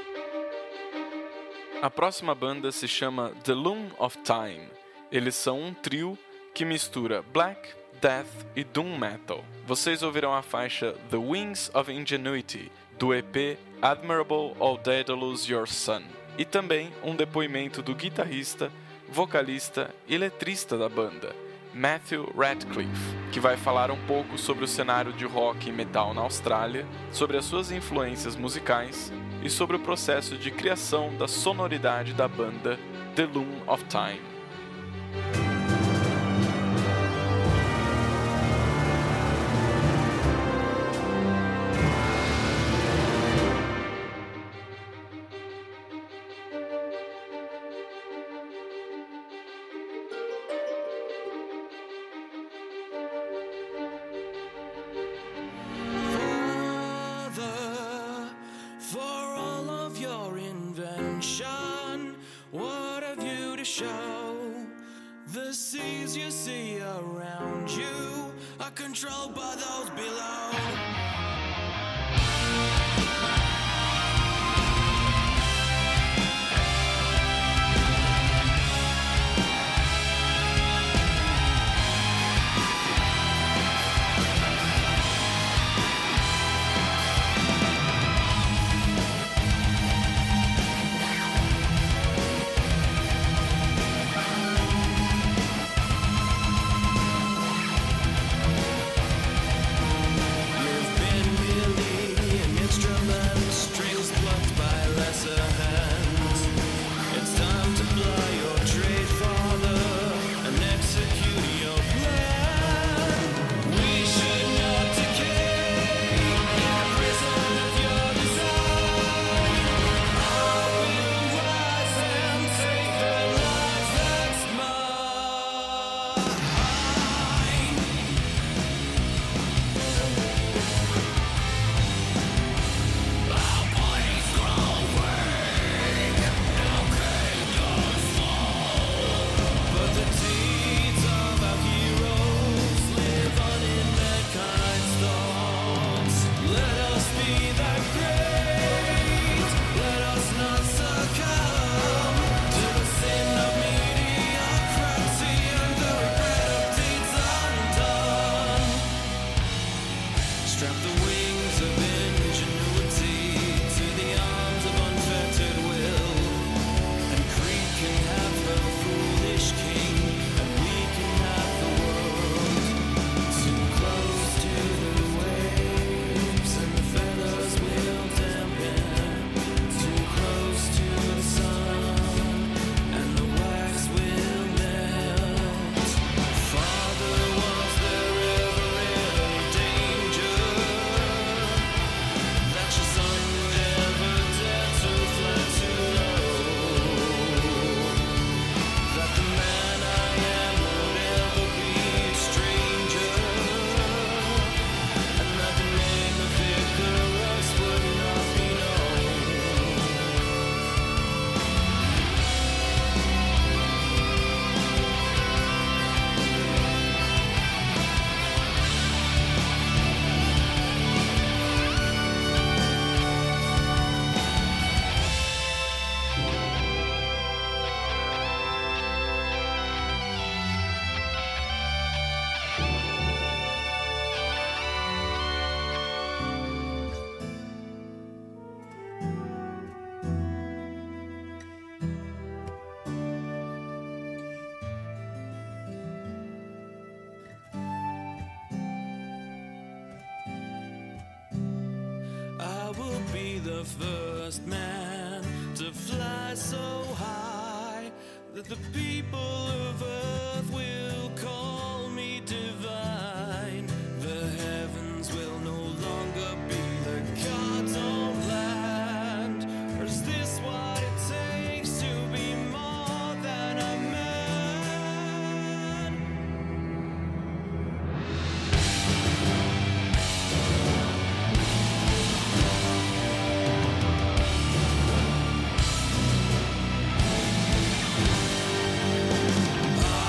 [SPEAKER 2] A próxima banda se chama The Loom of Time. Eles são um trio que mistura black, death e doom metal. Vocês ouvirão a faixa The Wings of Ingenuity, do E P Admirable O Daedalus Your Son, e também um depoimento do guitarrista, vocalista e letrista da banda, Matthew Radcliffe, que vai falar um pouco sobre o cenário de rock e metal na Austrália, sobre as suas influências musicais e sobre o processo de criação da sonoridade da banda The Loom of Time.
[SPEAKER 4] The seas you see around you are controlled by those below. The first man to fly so high that the people of earth will call me divine. The heavens will no longer be the God's own land. Or is this what it takes to be more than a man? Oh,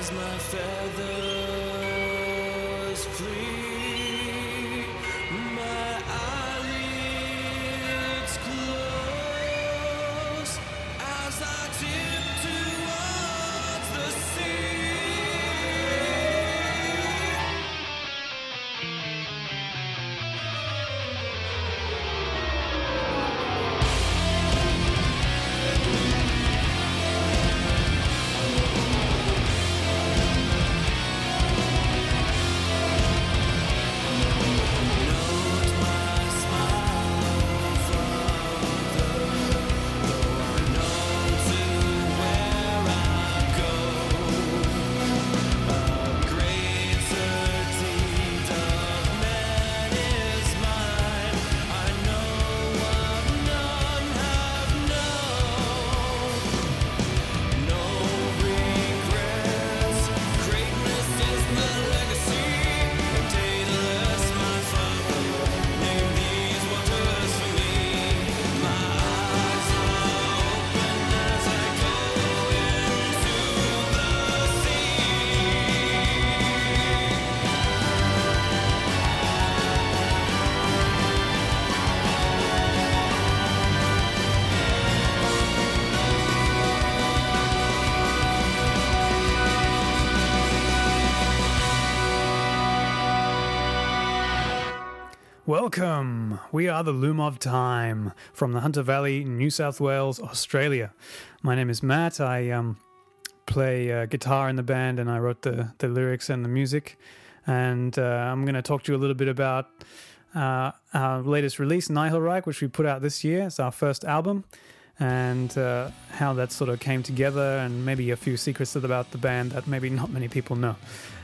[SPEAKER 4] as my feathers flee, my eyelids close as I tip towards the sea.
[SPEAKER 11] Welcome! We are the Loom of Time from the Hunter Valley, New South Wales, Australia. My name is Matt. I um, play uh, guitar in the band and I wrote the, the lyrics and the music. And uh, I'm going to talk to you a little bit about uh, our latest release, Nihilreich, which we put out this year. It's our first album. And uh, how that sort of came together and maybe a few secrets about the band that maybe not many people know.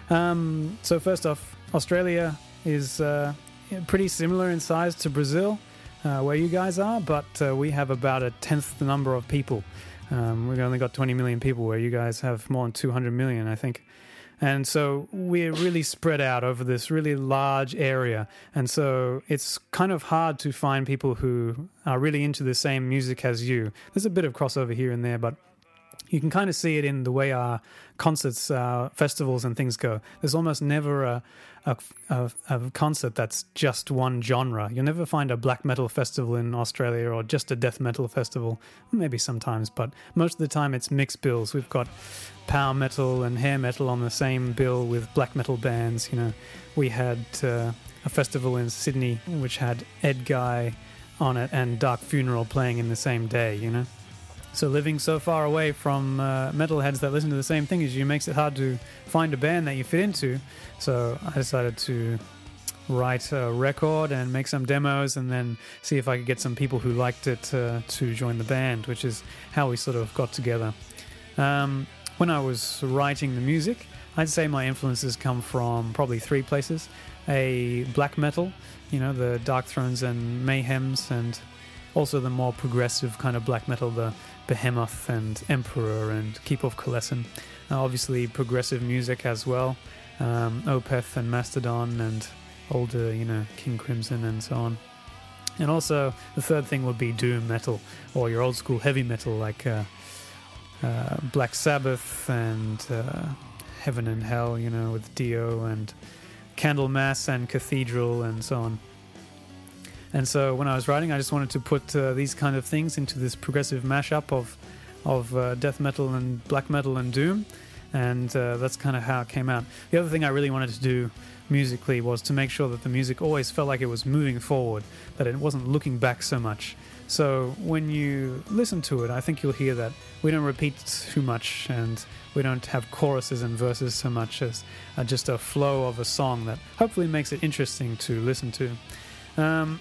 [SPEAKER 11] Um, so first off, Australia is... Uh, pretty similar in size to Brazil, uh, where you guys are, but uh, we have about a tenth the number of people. Um, we've only got twenty million people, where you guys have more than two hundred million, I think. And so we're really spread out over this really large area. And so it's kind of hard to find people who are really into the same music as you. There's a bit of crossover here and there, but you can kind of see it in the way our concerts, uh, festivals and things go. There's almost never a, a, a, a concert that's just one genre. You'll never find a black metal festival in Australia or just a death metal festival. Maybe sometimes, but most of the time it's mixed bills. We've got power metal and hair metal on the same bill with black metal bands. You know, we had uh, a festival in Sydney which had Ed Guy on it and Dark Funeral playing in the same day, you know. So living so far away from uh, metalheads that listen to the same thing as you makes it hard to find a band that you fit into. So I decided to write a record and make some demos and then see if I could get some people who liked it uh, to join the band, which is how we sort of got together. Um, when I was writing the music, I'd say my influences come from probably three places. A black metal, you know, the Dark Thrones and Mayhems, and also the more progressive kind of black metal, the Behemoth and Emperor and Keep of Kalessin. Uh, obviously progressive music as well, um, Opeth and Mastodon and older, you know, King Crimson and so on. And also the third thing would be doom metal, or your old school heavy metal like uh, uh, Black Sabbath and uh, Heaven and Hell, you know, with Dio, and Candlemass and Cathedral and so on. And so when I was writing, I just wanted to put uh, these kind of things into this progressive mashup of of uh, death metal and black metal and doom, and uh, that's kind of how it came out. The other thing I really wanted to do musically was to make sure that the music always felt like it was moving forward, that it wasn't looking back so much. So when you listen to it, I think you'll hear that we don't repeat too much, and we don't have choruses and verses so much as uh, just a flow of a song that hopefully makes it interesting to listen to. Um,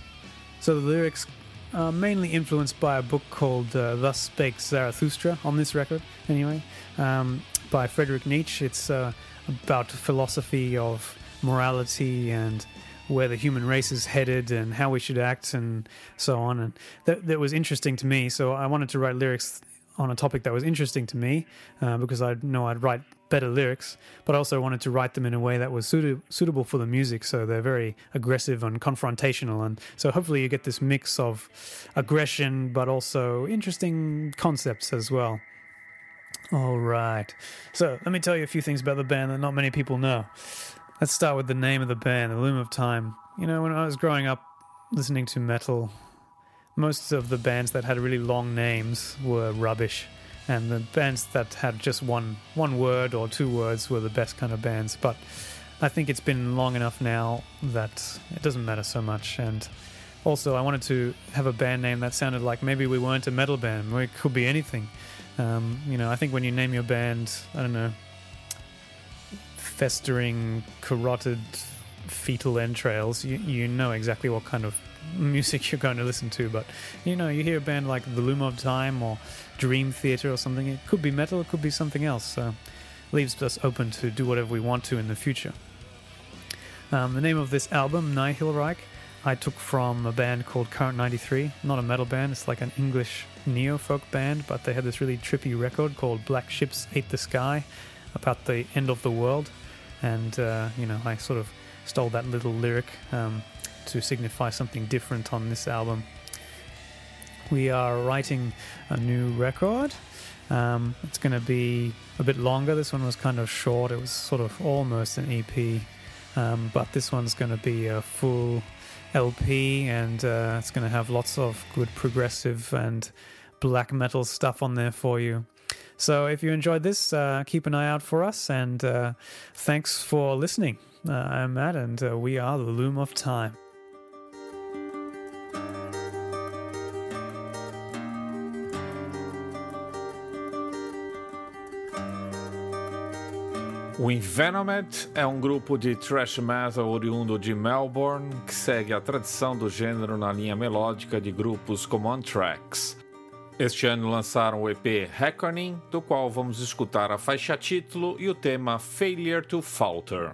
[SPEAKER 11] so the lyrics are mainly influenced by a book called uh, Thus Spake Zarathustra, on this record anyway, um, by Friedrich Nietzsche. It's uh, about philosophy of morality and where the human race is headed and how we should act and so on. And that, that was interesting to me, so I wanted to write lyrics on a topic that was interesting to me, uh, because I know I'd write better lyrics, but I also wanted to write them in a way that was suited, suitable for the music, so they're very aggressive and confrontational, and so hopefully you get this mix of aggression but also interesting concepts as well. All right. So let me tell you a few things about the band that not many people know. Let's start with the name of the band, The Loom of Time. You know, when I was growing up listening to metal, most of the bands that had really long names were rubbish. And the bands that had just one one word or two words were the best kind of bands. But I think it's been long enough now that it doesn't matter so much. And also, I wanted to have a band name that sounded like maybe we weren't a metal band. We could be anything. Um, you know, I think when you name your band, I don't know, Festering Carotid Fetal Entrails, you, you know exactly what kind of music you're going to listen to. But, you know, you hear a band like The Loom of Time or Dream Theater or something, it could be metal, it could be something else. So leaves us open to do whatever we want to in the future. Um, the name of this album, Nihilreich, I took from a band called Current ninety-three. Not a metal band, it's like an English neo-folk band, but they had this really trippy record called Black Ships Ate the Sky about the end of the world. And, uh, you know, I sort of stole that little lyric um, to signify something different on this album. We are writing a new record. Um, it's going to be a bit longer. This one was kind of short. It was sort of almost an E P. Um, but this one's going to be a full L P, and uh, it's going to have lots of good progressive and black metal stuff on there for you. So if you enjoyed this, uh, keep an eye out for us, and uh, thanks for listening. Uh, I'm Matt, and uh, we are The Loom of Time.
[SPEAKER 1] O Envenomed é um grupo de thrash metal oriundo de Melbourne que segue a tradição do gênero na linha melódica de grupos como Anthrax. Este ano lançaram o E P Reckoning, do qual vamos escutar a faixa título e o tema Failure to Falter.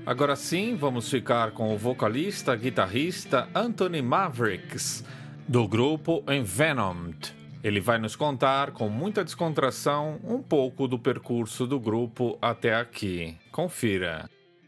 [SPEAKER 1] Agora sim, vamos ficar com o vocalista, guitarrista Anthony Mavericks, do grupo Envenomed. Ele vai nos contar, com muita descontração, um pouco do percurso do grupo até aqui. Confira.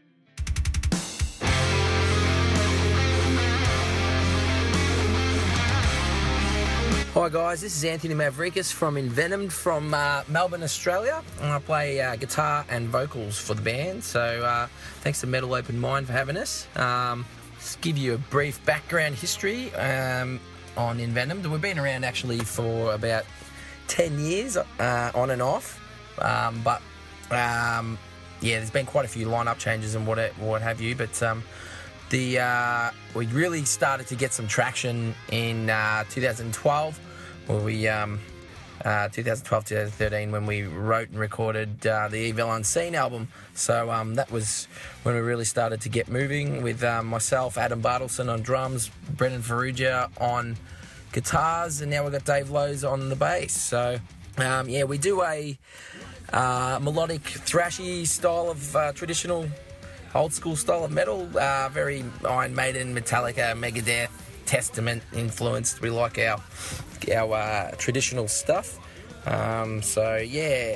[SPEAKER 12] Hi guys, this is Anthony Mavericks from Envenomed from uh, Melbourne, Australia, and I play uh, guitar and vocals for the band. So uh, thanks to Metal Open Mind for having us. Um, just give you a brief background history um, on Envenomed. We've been around actually for about ten years uh, on and off, um, but um, yeah, there's been quite a few lineup changes and what what have you. But um, the uh, we really started to get some traction in uh, two thousand twelve, where we um, uh, twenty twelve, twenty thirteen, when we wrote and recorded uh, the Evil Unseen album. So um, that was when we really started to get moving with um, myself, Adam Bartleson on drums, Brendan Ferrugia on guitars, and now we've got Dave Lowe's on the bass. So um, yeah, we do a uh, melodic, thrashy style of uh, traditional old school style of metal, uh, very Iron Maiden, Metallica, Megadeth, Testament influenced. We like our our uh, traditional stuff. Um, so yeah.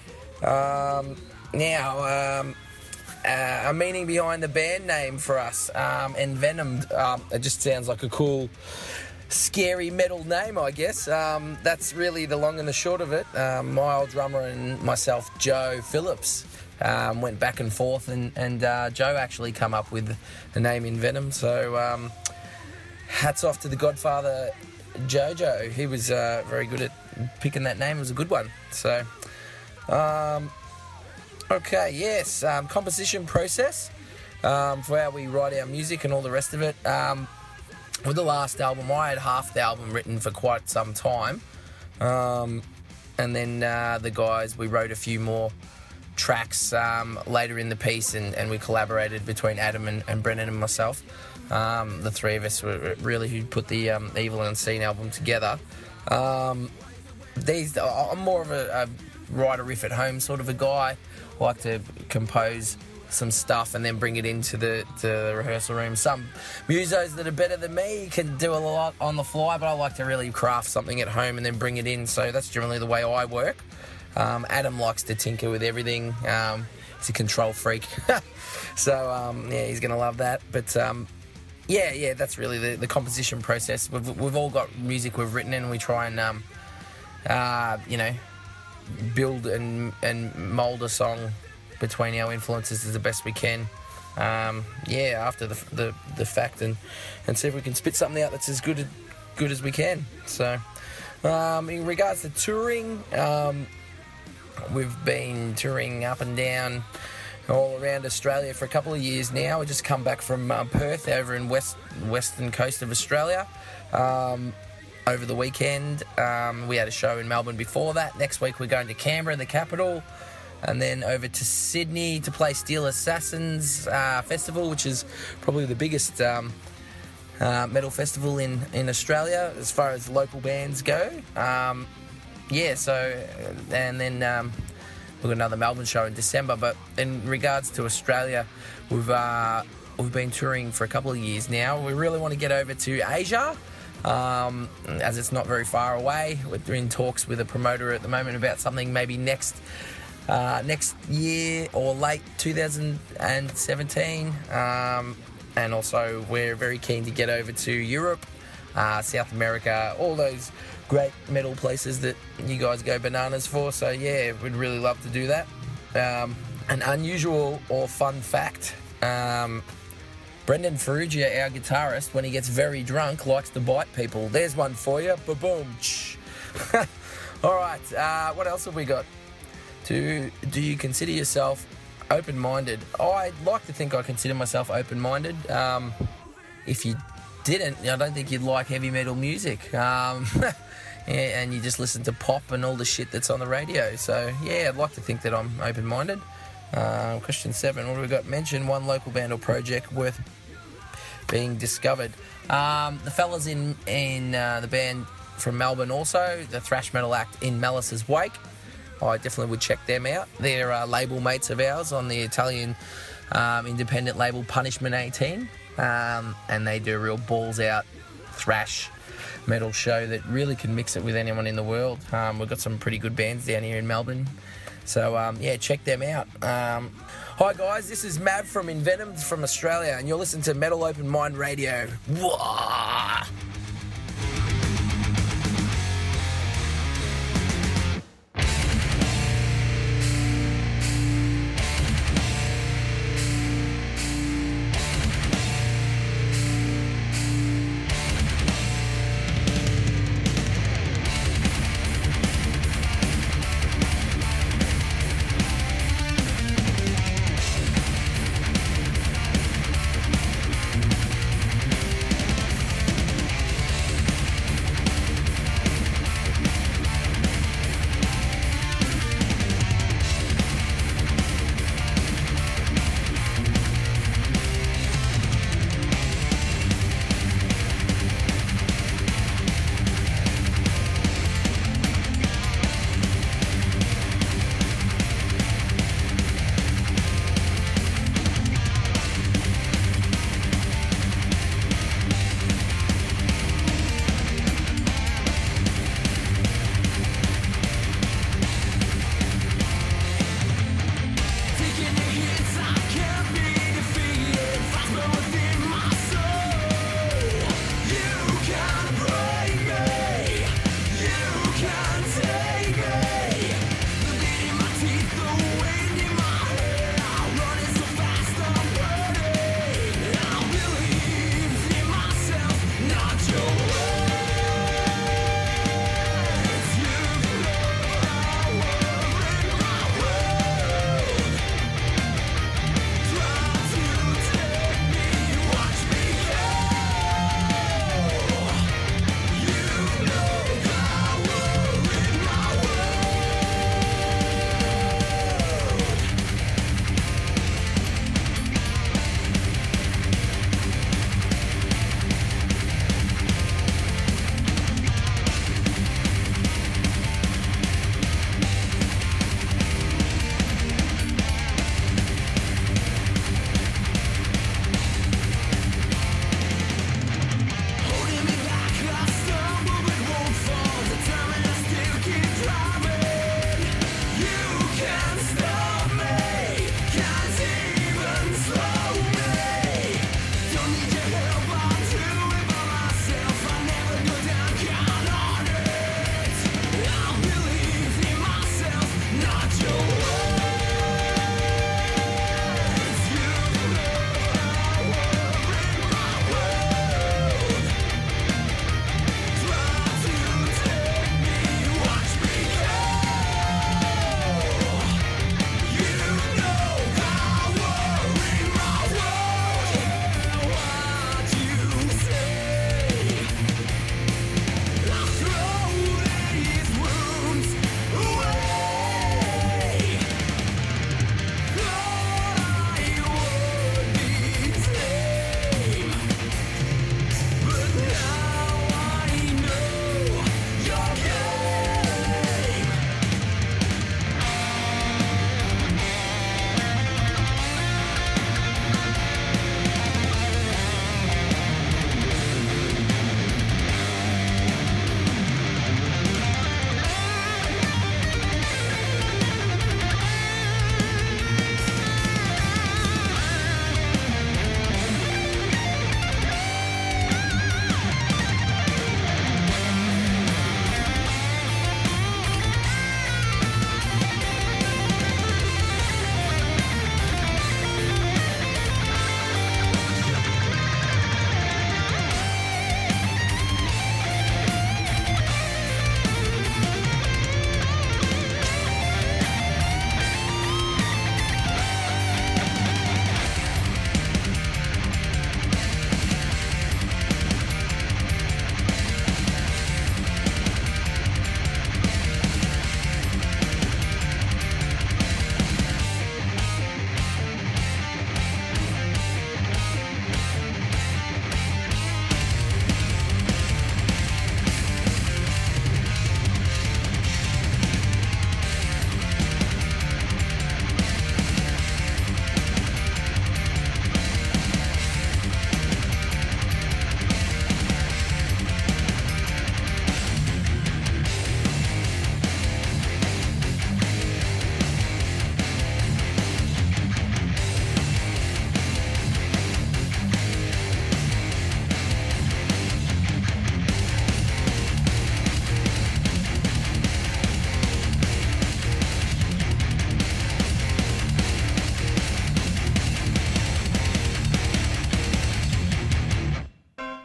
[SPEAKER 12] Um, now, um, uh, a meaning behind the band name for us, um, Envenomed. Um, it just sounds like a cool, scary metal name, I guess. Um, that's really the long and the short of it. Um, my old drummer and myself, Joe Phillips, Um, went back and forth, and, and uh, Joe actually come up with the name Envenom. So um, hats off to the Godfather Jojo. He was uh, very good at picking that name. It was a good one. So, um, okay, yes, um, composition process um, for how we write our music and all the rest of it. Um, with the last album, I had half the album written for quite some time. Um, and then uh, the guys, we wrote a few more tracks um, later in the piece, and, and we collaborated between Adam and, and Brendan and myself. Um, the three of us were really who put the um, Evil Unseen album together. Um, these, I'm more of a, a write a riff at home sort of a guy. I like to compose some stuff and then bring it into the, to the rehearsal room. Some musos that are better than me can do a lot on the fly, but I like to really craft something at home and then bring it in. So that's generally the way I work. Um, Adam likes to tinker with everything. Um, he's a control freak. so, um, yeah, he's going to love that. But, um, yeah, yeah, that's really the, the composition process. We've, we've all got music we've written, and we try and, um, uh, you know, build and, and mould a song between our influences as the best we can. Um, yeah, after the, the the fact, and, and see if we can spit something out that's as good, good as we can. So, um, in regards to touring, um, we've been touring up and down all around Australia for a couple of years now. We just come back from uh, Perth over in west western coast of Australia um, over the weekend. Um, we had a show in Melbourne before that. Next week we're going to Canberra, the capital, and then over to Sydney to play Steel Assassins uh, Festival, which is probably the biggest um, uh, metal festival in, in Australia as far as local bands go. Um, Yeah, so, and then um, we've got another Melbourne show in December. But in regards to Australia, we've uh, we've been touring for a couple of years now. We really want to get over to Asia, um, as it's not very far away. We're in talks with a promoter at the moment about something maybe next uh, next year or late two thousand seventeen. Um, and also, we're very keen to get over to Europe, uh, South America, all those great metal places that you guys go bananas for. So yeah, we'd really love to do that. Um, an unusual or fun fact, um, Brendan Ferrugia, our guitarist, when he gets very drunk, likes to bite people. There's one for you. Ba-boom. All right, uh, what else have we got? Do, do you consider yourself open-minded? I like to think I consider myself open-minded. Um, if you didn't, I don't think you'd like heavy metal music. Um, and you just listen to pop and all the shit that's on the radio. So, yeah, I'd like to think that I'm open-minded. Uh, question seven, what have we got? Mention one local band or project worth being discovered. Um, the fellas in, in uh, the band from Melbourne also, the thrash metal act In Malice's Wake. I definitely would check them out. They're uh, label mates of ours on the Italian um, independent label Punishment eighteen, um, and they do a real balls out thrash metal show that really can mix it with anyone in the world. Um, we've got some pretty good bands down here in Melbourne, so um, yeah, check them out. Um, hi guys, this is Mav from Envenomed from Australia, and you're listening to Metal Open Mind Radio. Wah!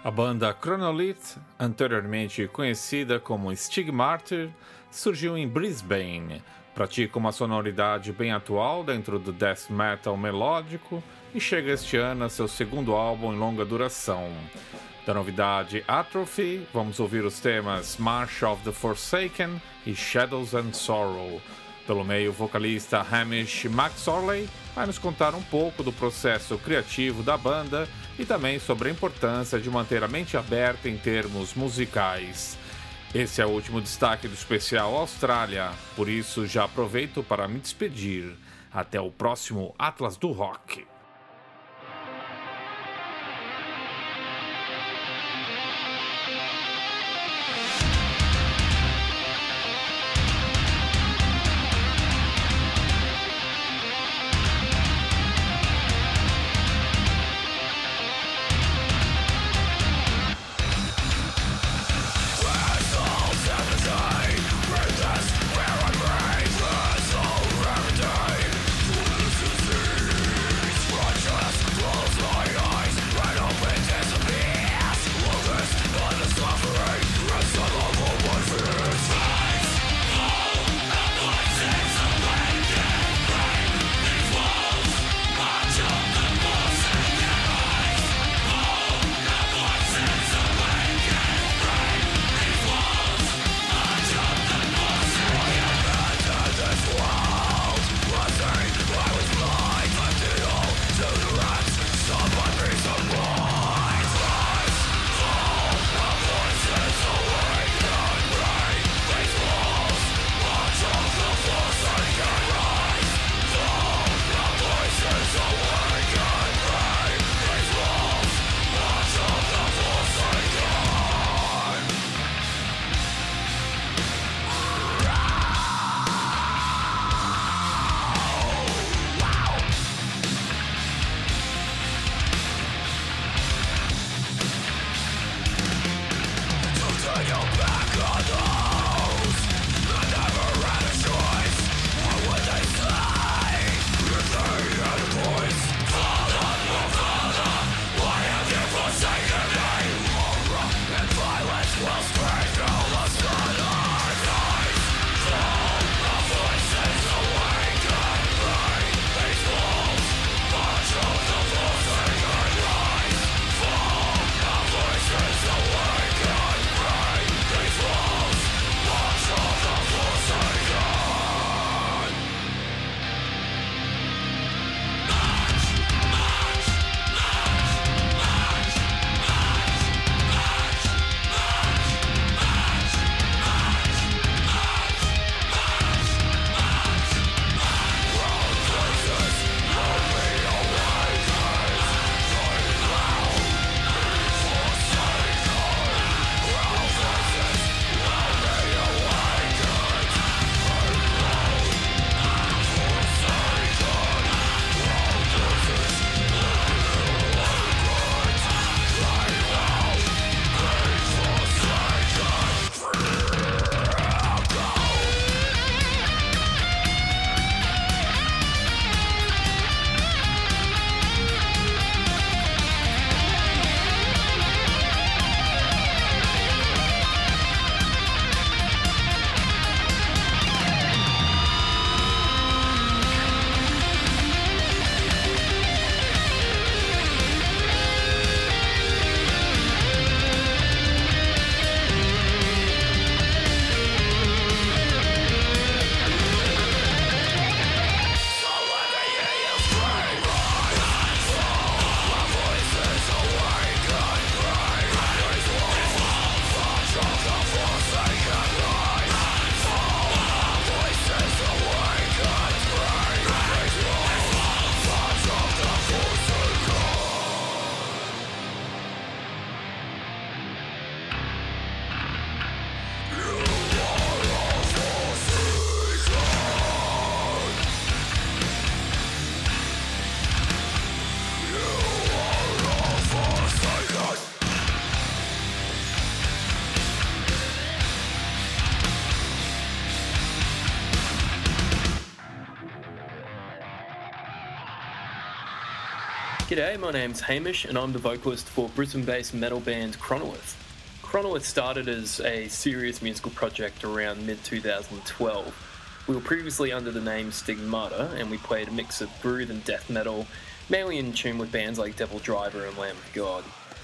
[SPEAKER 1] A banda Chronolith, anteriormente conhecida como Stigmartyr, surgiu em Brisbane. Pratica uma sonoridade bem atual dentro do death metal melódico e chega este ano a seu segundo álbum em longa duração. Da novidade Atrophy, vamos ouvir os temas March of the Forsaken e Shadows and Sorrow. Pelo meio, o vocalista Hamish McSorley vai nos contar um pouco do processo criativo da banda e também sobre a importância de manter a mente aberta em termos musicais. Esse é o último destaque do especial Austrália, por isso já aproveito para me despedir. Até o próximo Atlas do Rock.
[SPEAKER 4] Where I breathe, the soul remedy. To the disease.
[SPEAKER 13] G'day, my name's Hamish and I'm the vocalist for Brisbane-based metal band Chronolith. Chronolith started as a serious musical project around mid twenty twelve. We were previously under the name Stigmata and we played a mix of groove and death metal, mainly in tune with bands like Devil Driver and Lamb of God.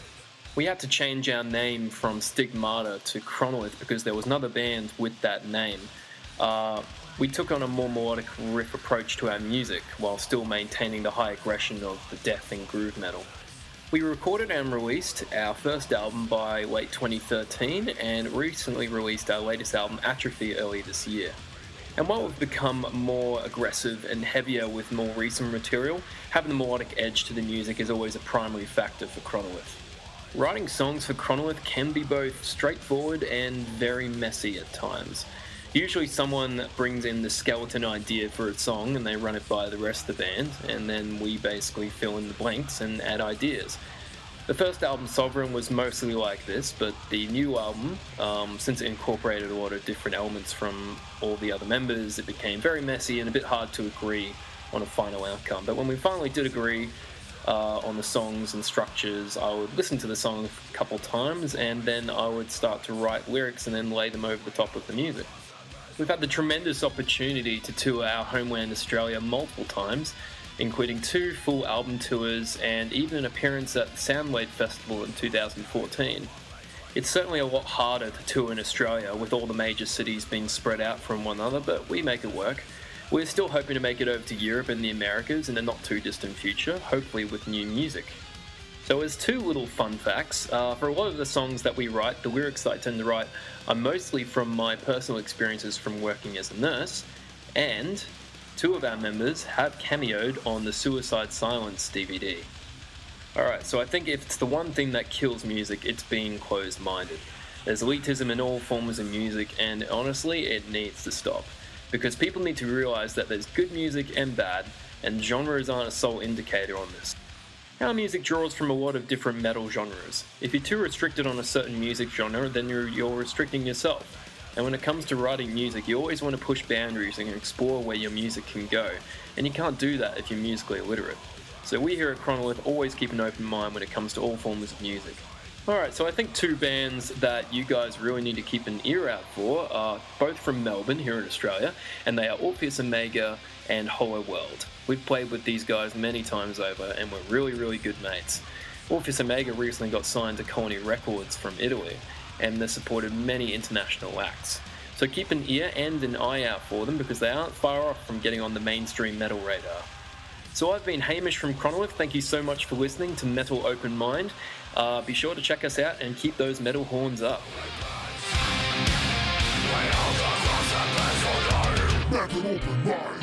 [SPEAKER 13] We had to change our name from Stigmata to Chronolith because there was another band with that name. Uh, we took on a more melodic riff approach to our music while still maintaining the high aggression of the death and groove metal. We recorded and released our first album by late twenty thirteen and recently released our latest album Atrophy early this year. And while we've become more aggressive and heavier with more recent material, having the melodic edge to the music is always a primary factor for Chronolith. Writing songs for Chronolith can be both straightforward and very messy at times. Usually someone brings in the skeleton idea for a song and they run it by the rest of the band, and then we basically fill in the blanks and add ideas. The first album, Sovereign, was mostly like this, but the new album, um, since it incorporated a lot of different elements from all the other members, it became very messy and a bit hard to agree on a final outcome. But when we finally did agree uh, on the songs and structures, I would listen to the song a couple times and then I would start to write lyrics and then lay them over the top of the music. We've had the tremendous opportunity to tour our homeland Australia multiple times, including two full album tours and even an appearance at the Soundwave Festival in two thousand fourteen. It's certainly a lot harder to tour in Australia with all the major cities being spread out from one another, but we make it work. We're still hoping to make it over to Europe and the Americas in the not too distant future, hopefully with new music. So as two little fun facts, uh, for a lot of the songs that we write, the lyrics that I tend to write are mostly from my personal experiences from working as a nurse, and two of our members have cameoed on the Suicide Silence D V D. Alright, so I think if it's the one thing that kills music, it's being closed-minded. There's elitism in all forms of music, and honestly, it needs to stop. Because people need to realise that there's good music and bad, and genres aren't a sole indicator on this. Our music draws from a lot of different metal genres. If you're too restricted on a certain music genre, then you're, you're restricting yourself. And when it comes to writing music, you always want to push boundaries and explore where your music can go, and you can't do that if you're musically illiterate. So we here at Chronolith always keep an open mind when it comes to all forms of music. Alright, so I think two bands that you guys really need to keep an ear out for are both from Melbourne here in Australia, and they are Orpheus Omega and Hollow World. We've played with these guys many times over and we're really, really good mates. Orpheus Omega recently got signed to Colony Records from Italy, and they've supported many international acts. So keep an ear and an eye out for them because they aren't far off from getting on the mainstream metal radar. So I've been Hamish from Chronolith. Thank you so much for listening to Metal Open Mind. Uh, be sure to check us out and keep those metal horns up.
[SPEAKER 7] Metal Open Mind.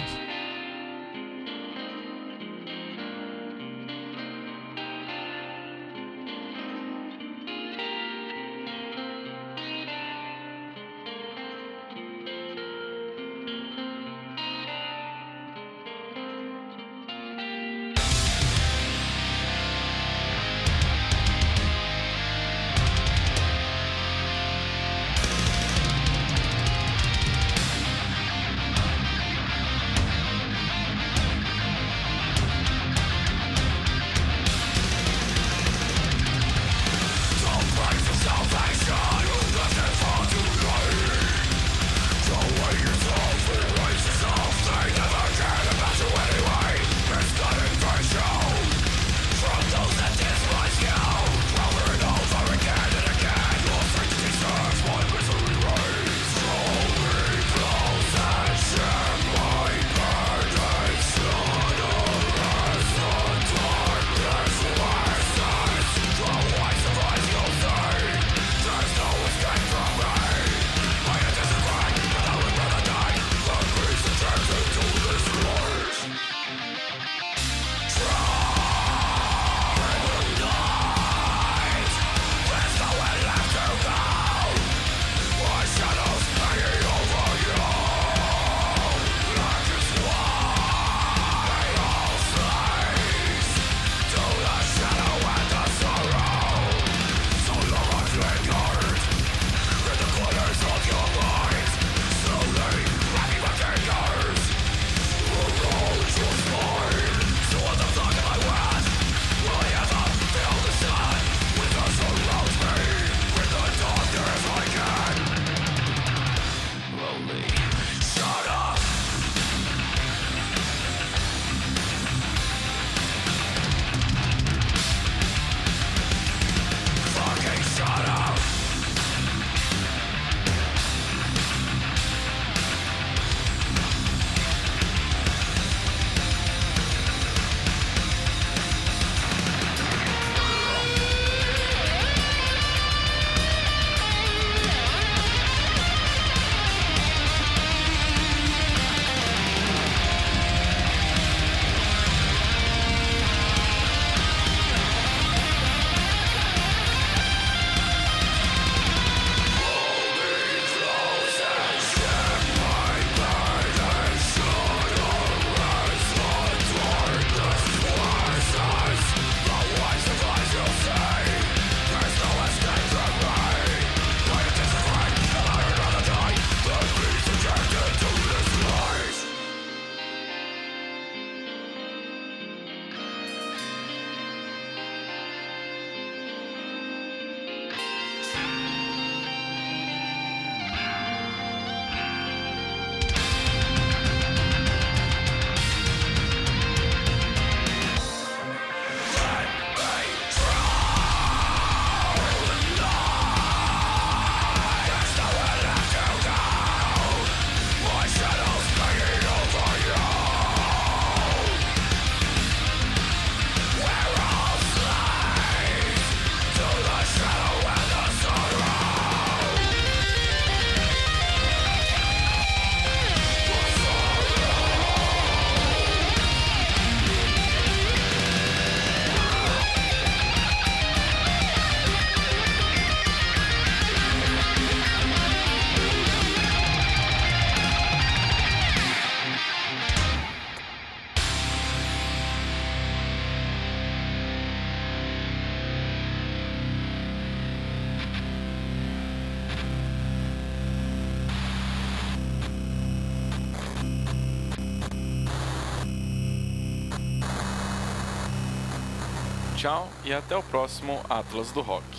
[SPEAKER 2] tchau e até o próximo Atlas do Rock.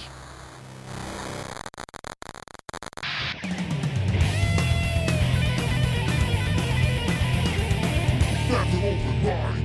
[SPEAKER 7] That's an open mind.